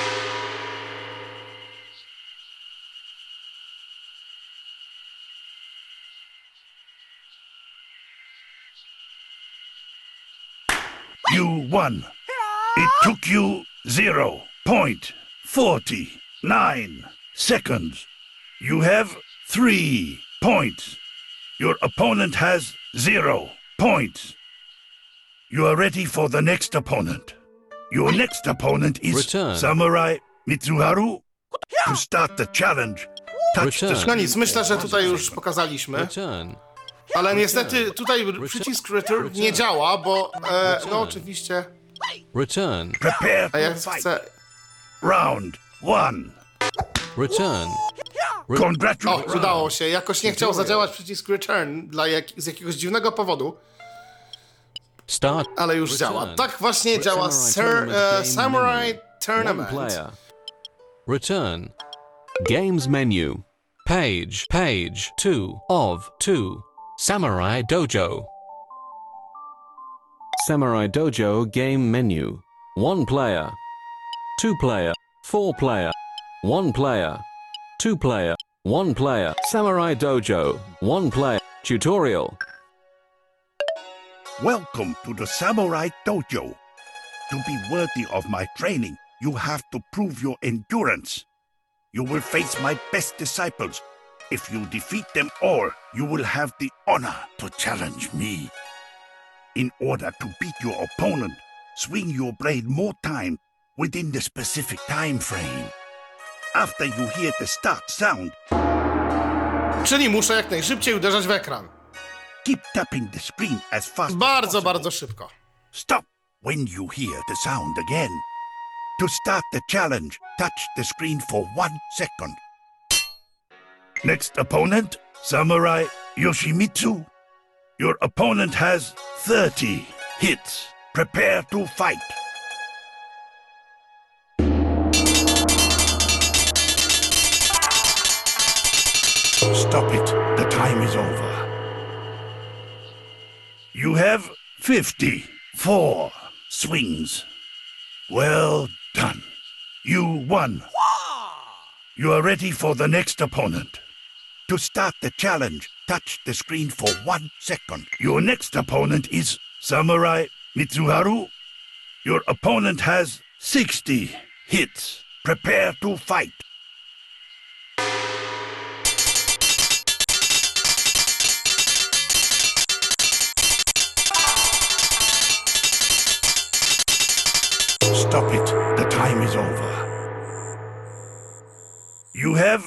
You won. It took you 0 point 49 seconds. You have 3 points. Your opponent has 0 points. You are ready for the next opponent. Your next opponent is Return. Samurai Mitsuharu. To start the challenge, touch the Return. No screen. nic, myślę, że tutaj już pokazaliśmy. Return. Ale niestety tutaj przycisk return nie działa, bo no oczywiście. Return. Prepare A ja to fight. chcę. Round 1. Return. O, Congratulations. udało się. Jakoś nie chciał zadziałać przycisk return z jakiegoś dziwnego powodu, Start. ale już Return. działa. Tak właśnie działa Samurai Tournament. One player. Return. Games menu. Page 2 of 2. Samurai Dojo. Samurai Dojo game menu. 1 player. 2 player. 4 player. 1 player. 2 player. 1 player. Samurai Dojo. 1 player. Tutorial. Welcome to the Samurai Dojo. To be worthy of my training, you have to prove your endurance. You will face my best disciples. If you defeat them all, you will have the honor to challenge me. In order to beat your opponent, swing your blade more time within the specific time frame. After you hear the start sound, Czyli muszę jak najszybciej uderzać w ekran. keep tapping the screen as fast as Bardzo, possible. bardzo szybko. Stop when you hear the sound again. To start the challenge, touch the screen for 1 second. Next opponent, Samurai Yoshimitsu. Your opponent has 30 hits. Prepare to fight. Stop it. The time is over. You have 54 swings. Well done. You won. You are ready for the next opponent. To start the challenge, touch the screen for 1 second. Your next opponent is Samurai Mitsuharu. Your opponent has 60 hits. Prepare to fight. Stop it. The time is over. You have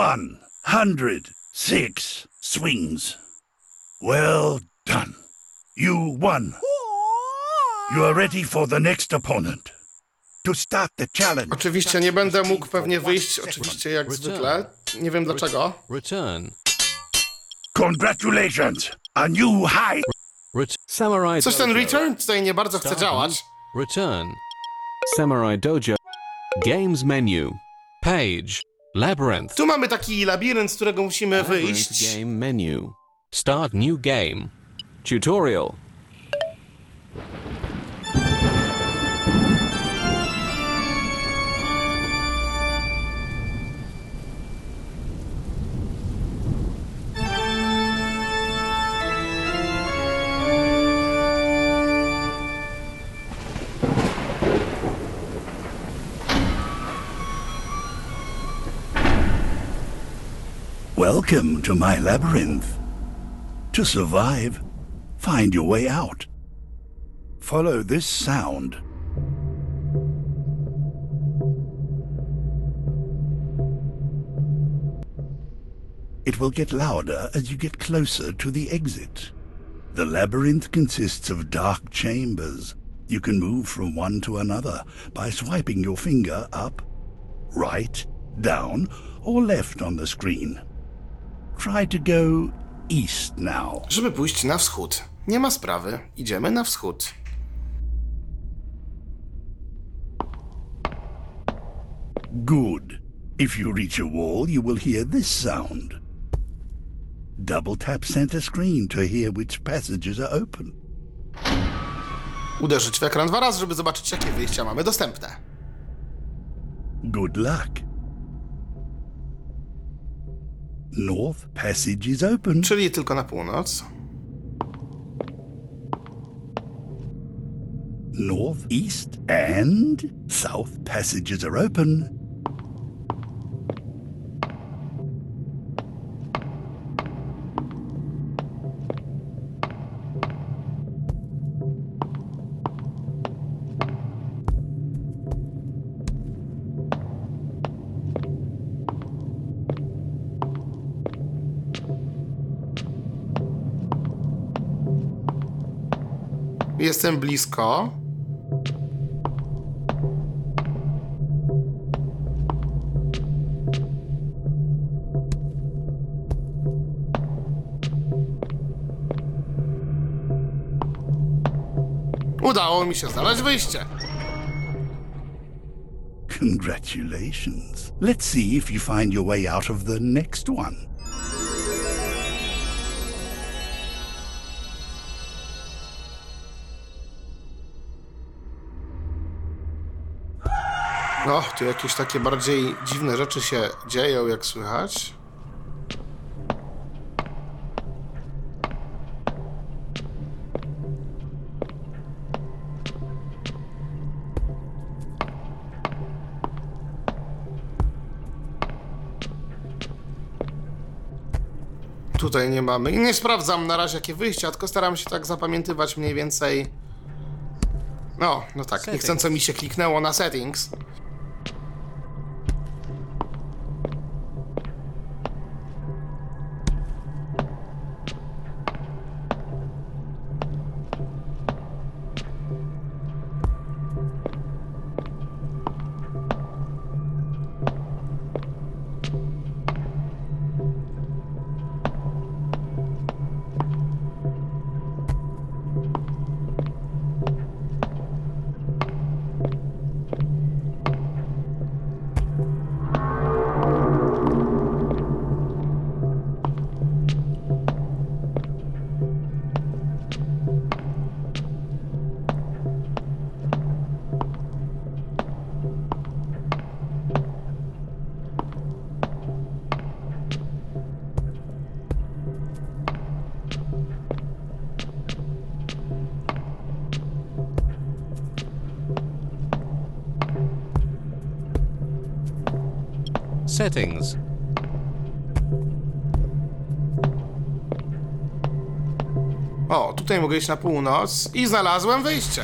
106 swings. Well done. You won. You are ready for the next opponent. To start the challenge. Oczywiście nie będę mógł pewnie wyjść, oczywiście jak zwykle. Nie wiem dlaczego. Return. Congratulations. A new high. Samurai Coś ten Dojo. return tutaj nie bardzo chce działać. Return. Samurai Dojo. Games menu. Page. Labyrinth. Tu mamy taki labirynt, z którego musimy Labyrinth wyjść. game menu. Start new game. Tutorial. Welcome to my labyrinth. To survive, find your way out. Follow this sound. It will get louder as you get closer to the exit. The labyrinth consists of dark chambers. You can move from one to another by swiping your finger up, right, down, or left on the screen. Try to go east now. Żeby pójść na wschód. Nie ma sprawy. Idziemy na wschód. Good. If you reach a wall, you will hear this sound. Double tap center screen to hear which passages are open. Uderzyć w ekran 2 razy, żeby zobaczyć, jakie wyjścia mamy dostępne. Good luck. North passage is open. Czyli tylko na północ. North, east, and south passages are open. Jestem blisko. Udało mi się znaleźć wyjście. Congratulations. Let's see if you find your way out of the next one. No, tu jakieś takie bardziej dziwne rzeczy się dzieją, jak słychać. Tutaj nie mamy. Nie sprawdzam na razie, jakie wyjścia, tylko staram się tak zapamiętywać mniej więcej. No tak, niechcąco mi się kliknęło na settings. Settings. O, tutaj mogę iść na północ i znalazłem wyjście.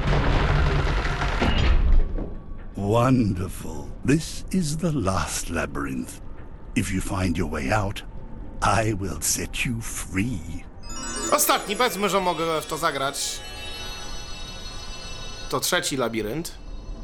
Wonderful. This is the last labyrinth. If you find your way out, I will set you free. Ostatni, powiedzmy, że mogę w to zagrać. To trzeci labirynt.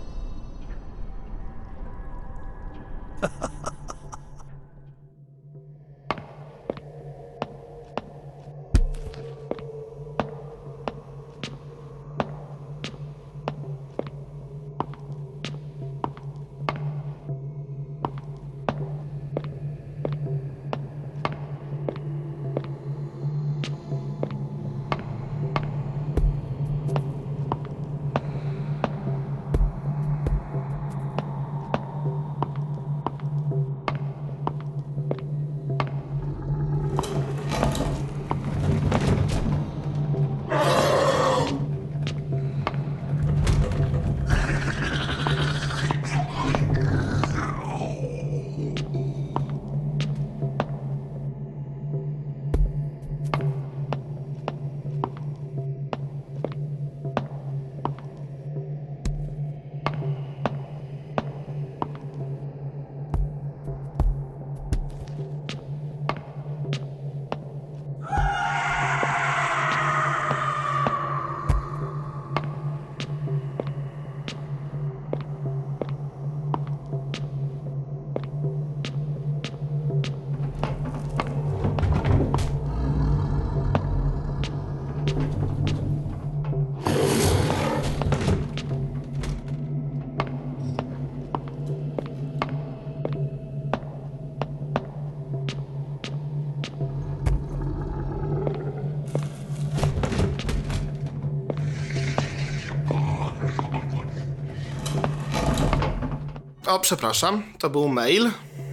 O, przepraszam, to był mail.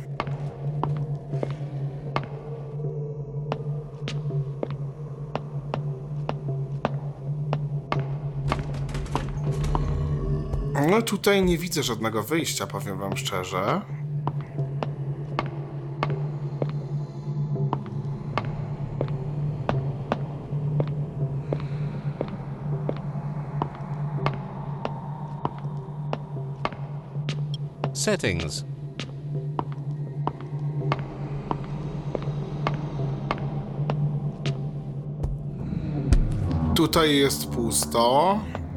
No tutaj nie widzę żadnego wyjścia, powiem wam szczerze. Settings. Tutaj jest pusto.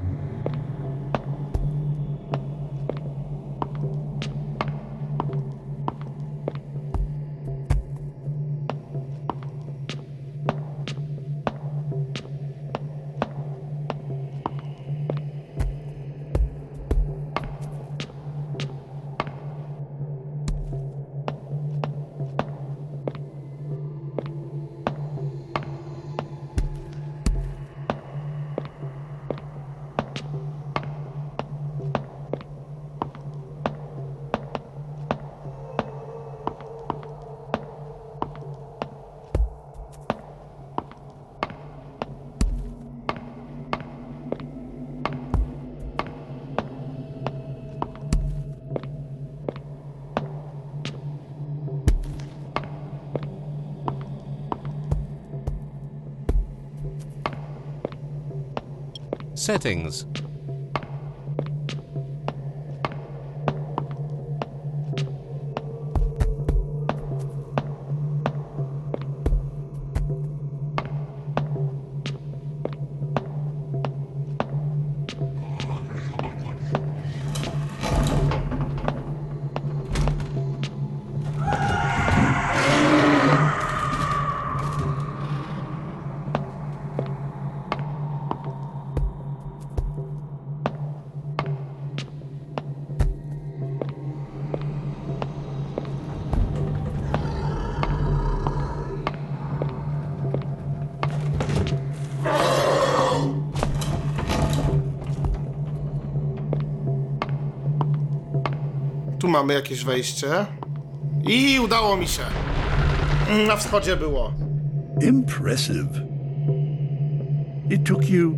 Settings. Tu mamy jakieś wejście. I udało mi się. Na wschodzie było. Impressive. It took you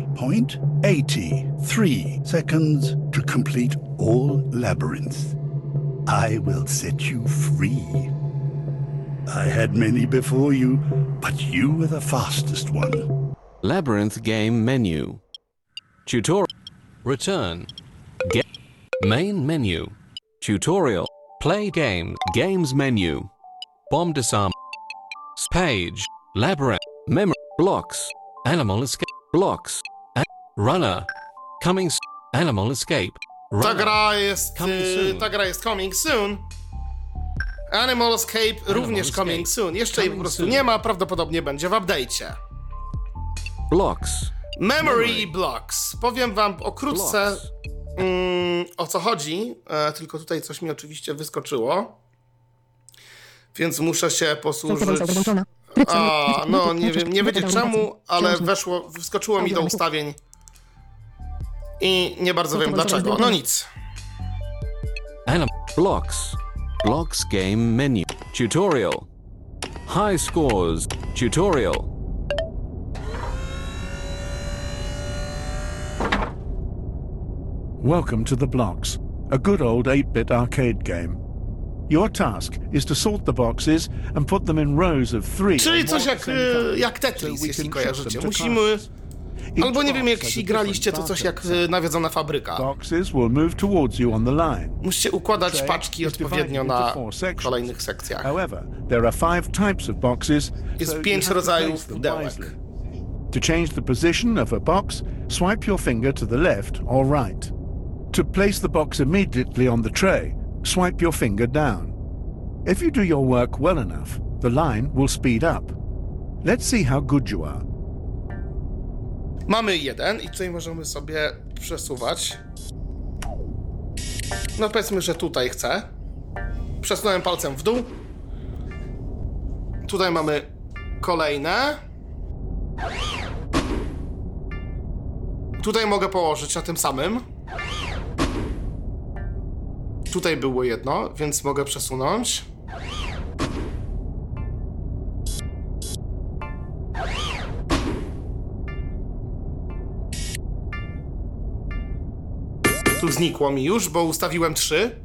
420.83 seconds to complete all labyrinths. I will set you free. I had many before you, but you were the fastest one. Labyrinth game menu. Tutorial. Return. Main menu. Tutorial. Play game. Games menu. Bomb disarm. Page. Labyrinth. Memory. Blocks. Animal escape. Blocks. Runner. Coming. Animal escape. Ta gra jest coming soon. Animal Escape również coming soon. Jeszcze jej po prostu nie ma, prawdopodobnie będzie w update'cie. Blocks. Memory i Blocks. Powiem wam okrótce o co chodzi, tylko tutaj coś mi oczywiście wyskoczyło. Więc muszę się posłużyć... no nie wiem, nie wiecie czemu, ale wyskoczyło mi do ustawień i nie bardzo wiem dlaczego. No nic. Blocks. Blocks game menu. Tutorial. High scores. Tutorial. Welcome to the Blocks, a good old 8-bit arcade game. Your task is to sort the boxes and put them in rows of 3. Czyli coś jak Tetris, jeśli kojarzycie. Musimy... Albo nie wiem, jeśli graliście, to coś jak nawiedzona fabryka. Musicie układać paczki odpowiednio na kolejnych sekcjach. Jest 5 rodzajów pudełek. To change the position of a box, swipe your finger to the left or right. To place the box immediately on the tray, swipe your finger down. If you do your work well enough, the line will speed up. Let's see how good you are. Mamy jeden i tutaj możemy sobie przesuwać. No powiedzmy, że tutaj chcę. Przesunąłem palcem w dół. Tutaj mamy kolejne. Tutaj mogę położyć na tym samym. Tutaj było jedno, więc mogę przesunąć. Tu znikło mi już, bo ustawiłem 3.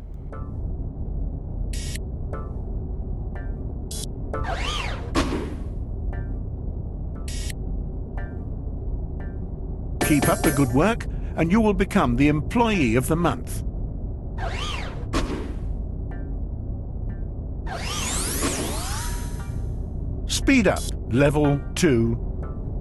Keep up the good work and you will become the employee of the month. Speed up, level 2.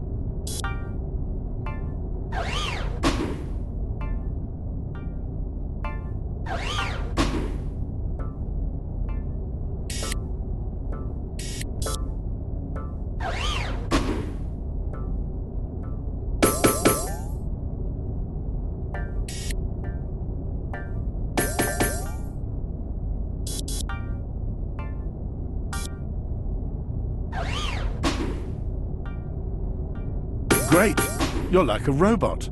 Great! You're like a robot.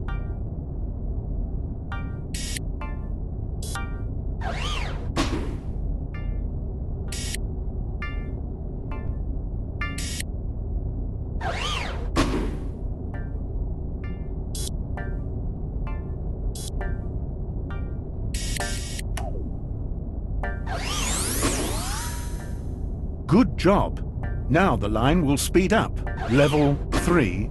Good job. Now the line will speed up. Level 3.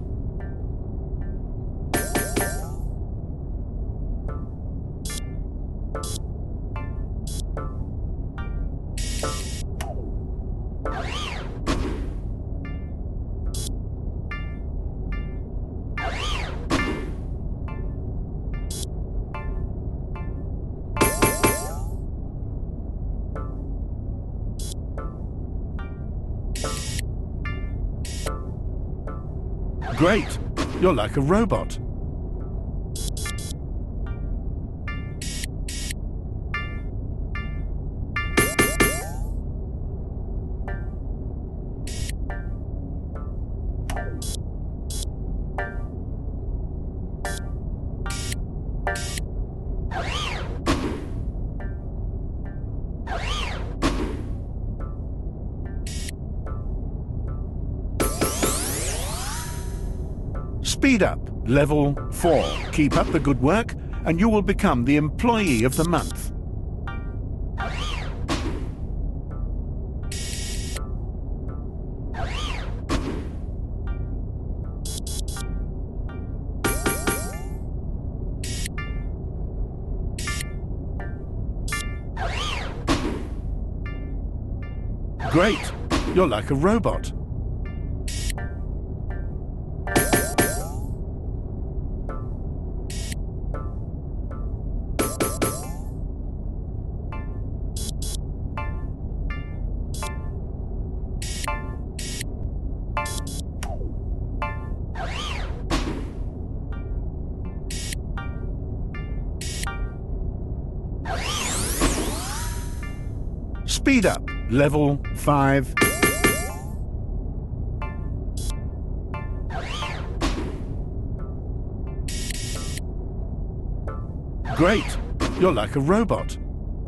Great! You're like a robot. Speed up, level 4. Keep up the good work and you will become the employee of the month. Great! You're like a robot. Speed up. Level 5. Great! You're like a robot.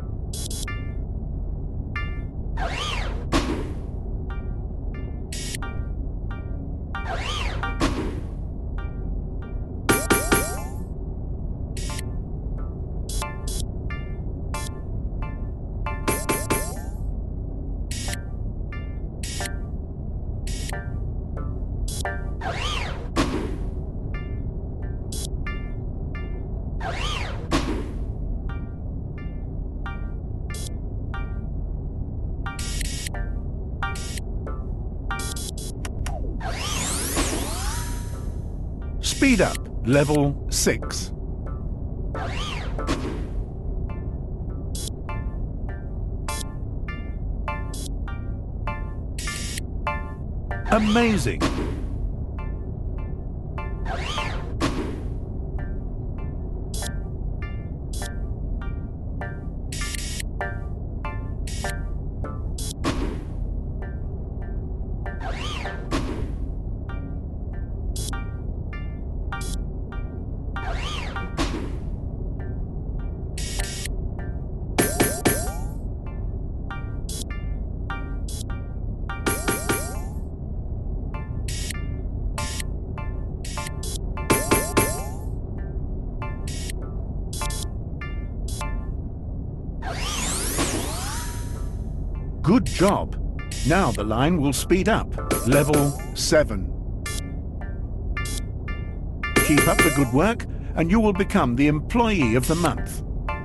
Speed up. Level 6. Amazing! Good job. Now the line will speed up. Level 7. Keep up the good work and you will become the Employee of the Month.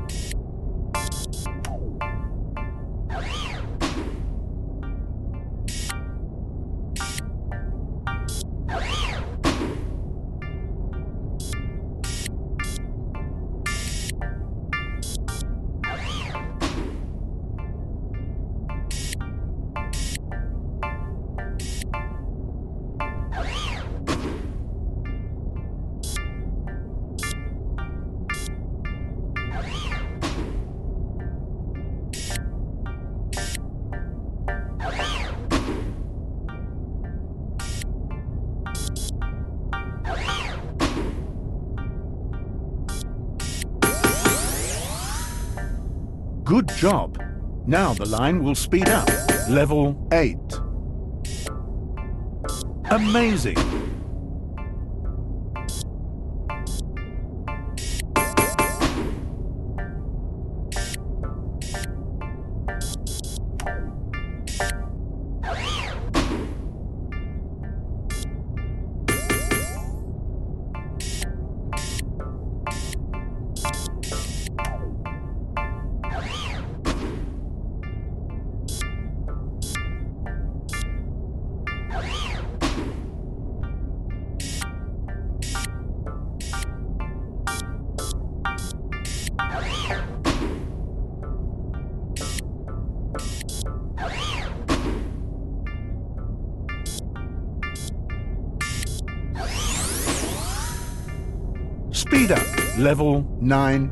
Good job. Now the line will speed up. Level 8. Amazing. Speed up. Level 9.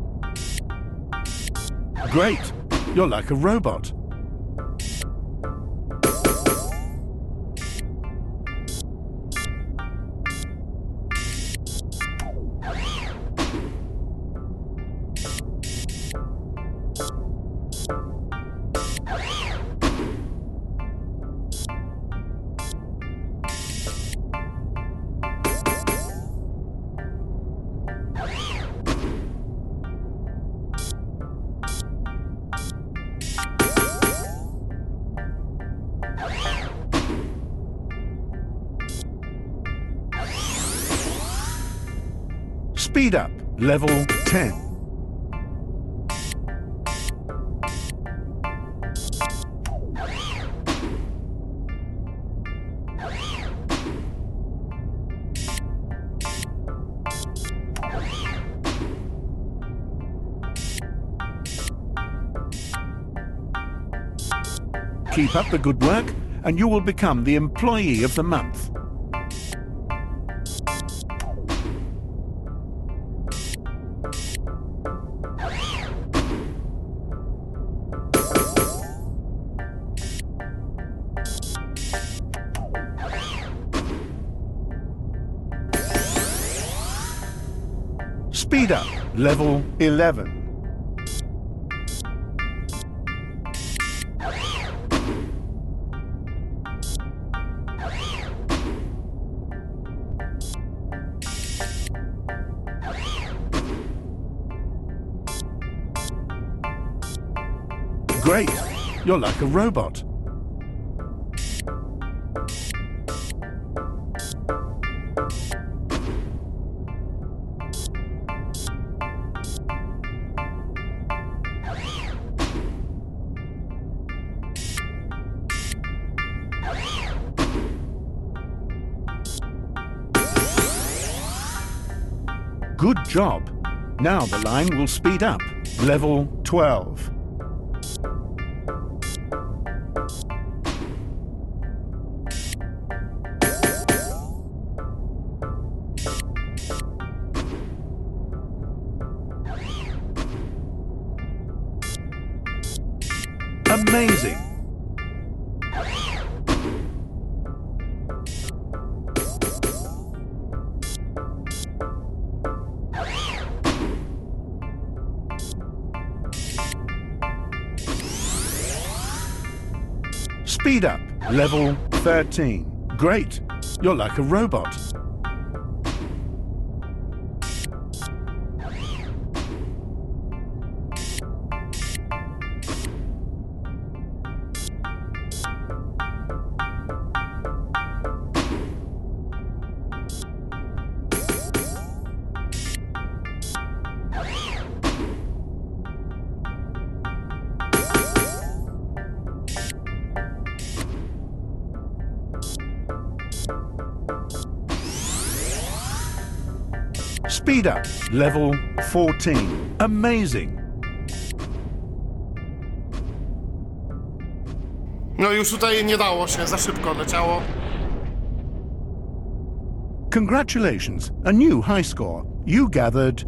Great. You're like a robot. Speed up. Level 10. Keep up the good work, and you will become the Employee of the Month. Speed up, level 11. Great, you're like a robot. Good job. Now the line will speed up. Level 12. Amazing. Speed up, level 13. Great, you're like a robot. Speed up, level 14. Amazing. No już tutaj nie dało się, za szybko leciało. Congratulations, a new high score. You gathered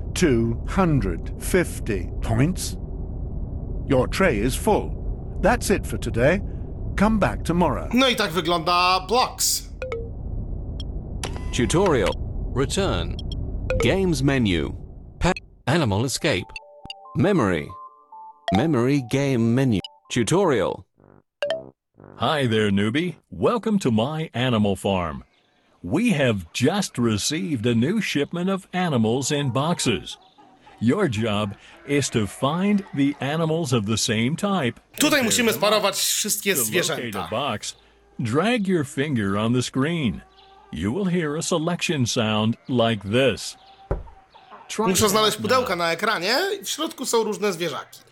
250 points. Your tray is full. That's it for today. Come back tomorrow. No i tak wygląda Blocks. Tutorial. Return. Games menu. Animal escape. Memory. Memory game menu. Tutorial. Hi there, newbie. Welcome to my animal farm. We have just received a new shipment of animals in boxes. Your job is to find the animals of the same type. Tutaj musimy sparować wszystkie To locate zwierzęta. a box, drag your finger on the screen. You will hear a selection sound like this. Try Muszę it znaleźć out pudełka now. na ekranie i w środku są różne zwierzaki.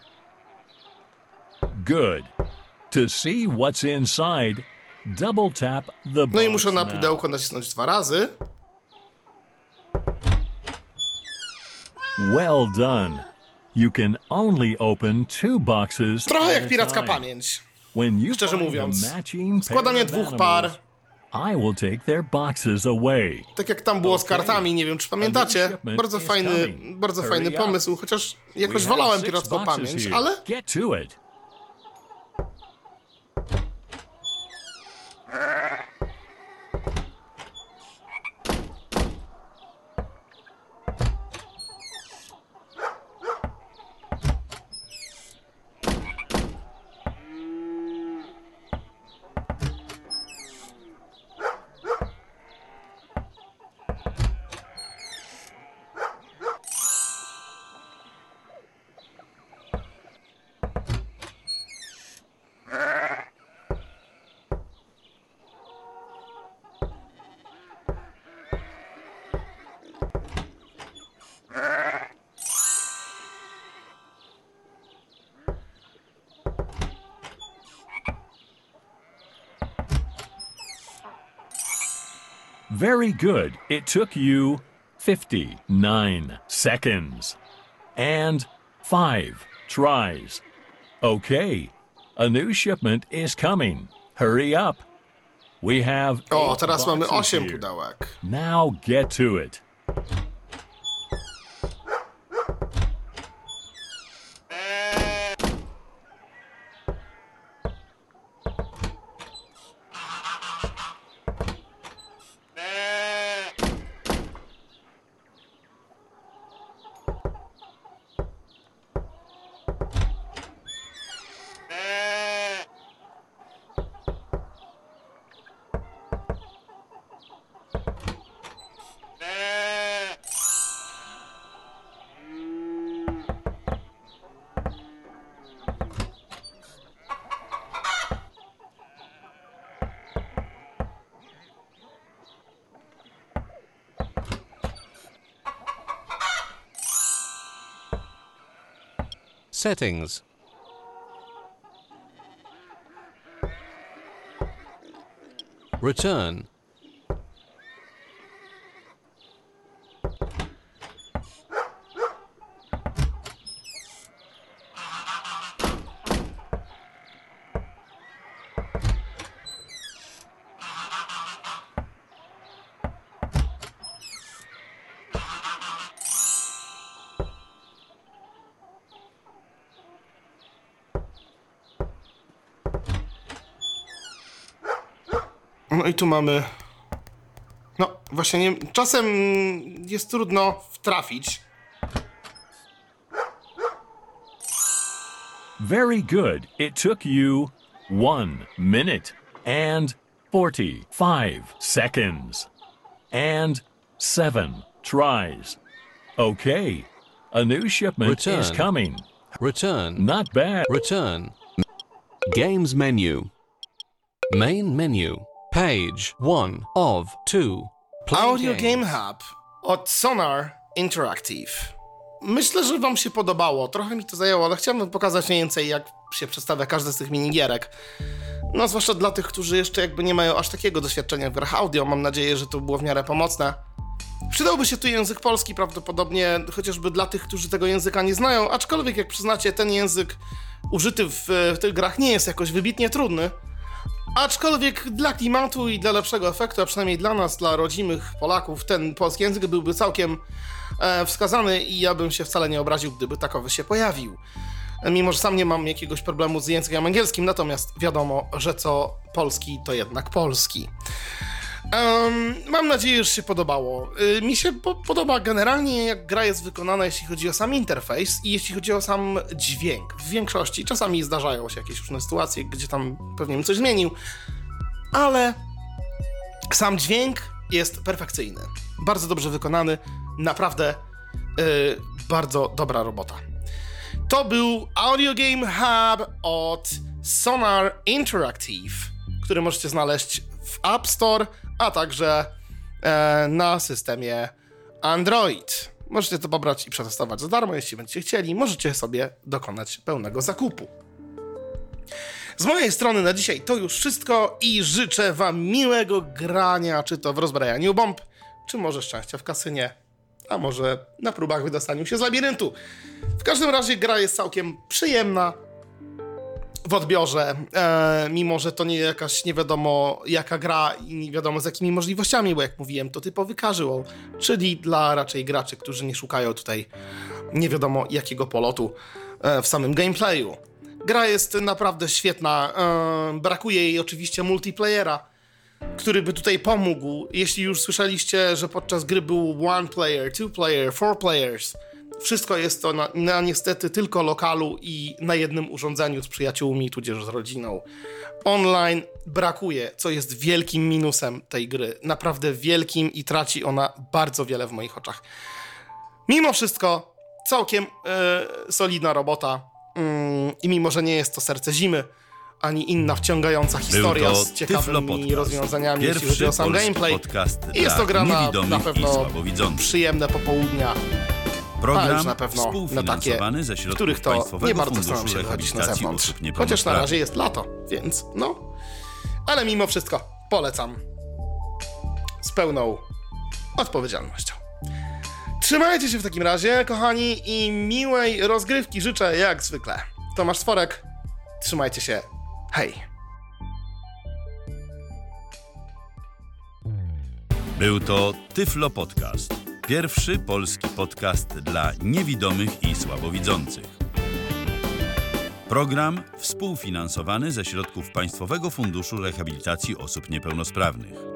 Good. To see what's inside, double tap the No i box muszę na now. pudełko nacisnąć 2 razy. Well done. You can only open 2 boxes Trochę at jak a piracka time. pamięć. When you Szczerze find mówiąc. a matching Składanie pair of 2 par. animals, I will take their boxes away. Tak jak tam było z kartami, nie wiem czy pamiętacie. Bardzo fajny Hurry pomysł, chociaż jakoś We have wolałem 6 piracką boxes pamięć, here. ale Get to it. Very good. It took you 59 seconds and 5 tries. Okay, A new shipment is coming. Hurry up. We have O, teraz mamy boxes 8 here. pudełek. Now get to it. Settings. Return. No i tu mamy... No, właśnie nie... Czasem jest trudno wtrafić. Very good. It took you 1 minute and 45 seconds and 7 tries. Okay. A new shipment is Return. coming. Return. Not bad. Return. Games menu. Main menu. Page 1 of 2. Play Audio games. Game Hub od Sonar Interactive. Myślę, że wam się podobało. Trochę mi to zajęło, ale chciałbym pokazać mniej więcej, jak się przedstawia każdy z tych minigierek. No, zwłaszcza dla tych, którzy jeszcze jakby nie mają aż takiego doświadczenia w grach audio. Mam nadzieję, że to było w miarę pomocne. Przydałby się tu język polski prawdopodobnie, chociażby dla tych, którzy tego języka nie znają, aczkolwiek jak przyznacie, ten język użyty w tych grach nie jest jakoś wybitnie trudny. Aczkolwiek dla klimatu i dla lepszego efektu, a przynajmniej dla nas, dla rodzimych Polaków, ten polski język byłby całkiem wskazany i ja bym się wcale nie obraził, gdyby takowy się pojawił. Mimo że sam nie mam jakiegoś problemu z językiem angielskim, natomiast wiadomo, że co polski, to jednak polski. Mam nadzieję, że się podobało. Mi się podoba generalnie, jak gra jest wykonana, jeśli chodzi o sam interfejs i jeśli chodzi o sam dźwięk. W większości, czasami zdarzają się jakieś różne sytuacje, gdzie tam pewnie bym coś zmienił, ale sam dźwięk jest perfekcyjny. Bardzo dobrze wykonany, naprawdę bardzo dobra robota. To był Audio Game Hub od Sonar Interactive, który możecie znaleźć w App Store, a także na systemie Android. Możecie to pobrać i przetestować za darmo, jeśli będziecie chcieli. Możecie sobie dokonać pełnego zakupu. Z mojej strony na dzisiaj to już wszystko i życzę wam miłego grania, czy to w rozbrajaniu bomb, czy może szczęścia w kasynie, a może na próbach wydostaniu się z labiryntu. W każdym razie gra jest całkiem przyjemna w odbiorze, mimo że to nie jakaś nie wiadomo jaka gra i nie wiadomo z jakimi możliwościami, bo jak mówiłem, to typowy casual, czyli dla raczej graczy, którzy nie szukają tutaj nie wiadomo jakiego polotu w samym gameplayu. Gra jest naprawdę świetna, brakuje jej oczywiście multiplayera, który by tutaj pomógł. Jeśli już słyszeliście, że podczas gry był 1 player, 2 player, 4 players, wszystko jest to na niestety tylko lokalu i na jednym urządzeniu z przyjaciółmi, tudzież z rodziną. Online brakuje, co jest wielkim minusem tej gry. Naprawdę wielkim i traci ona bardzo wiele w moich oczach. Mimo wszystko całkiem solidna robota i mimo, że nie jest to Serce Zimy, ani inna wciągająca historia z ciekawymi rozwiązaniami, jeśli chodzi o sam gameplay. I jest to gra na pewno przyjemne popołudnia. Program już na pewno na takie, ze środków w których to Państwowego nie bardzo Funduszu chcą się wychodzić na Rehabilitacji zewnątrz. Osób Chociaż na Niepełnosprawnych. razie jest lato, więc no. Ale mimo wszystko polecam. Z pełną odpowiedzialnością. Trzymajcie się w takim razie, kochani, i miłej rozgrywki życzę jak zwykle. Tomasz Sworek, Trzymajcie się. Hej! Był to Tyflo Podcast. Pierwszy polski podcast dla niewidomych i słabowidzących. Program współfinansowany ze środków Państwowego Funduszu Rehabilitacji Osób Niepełnosprawnych.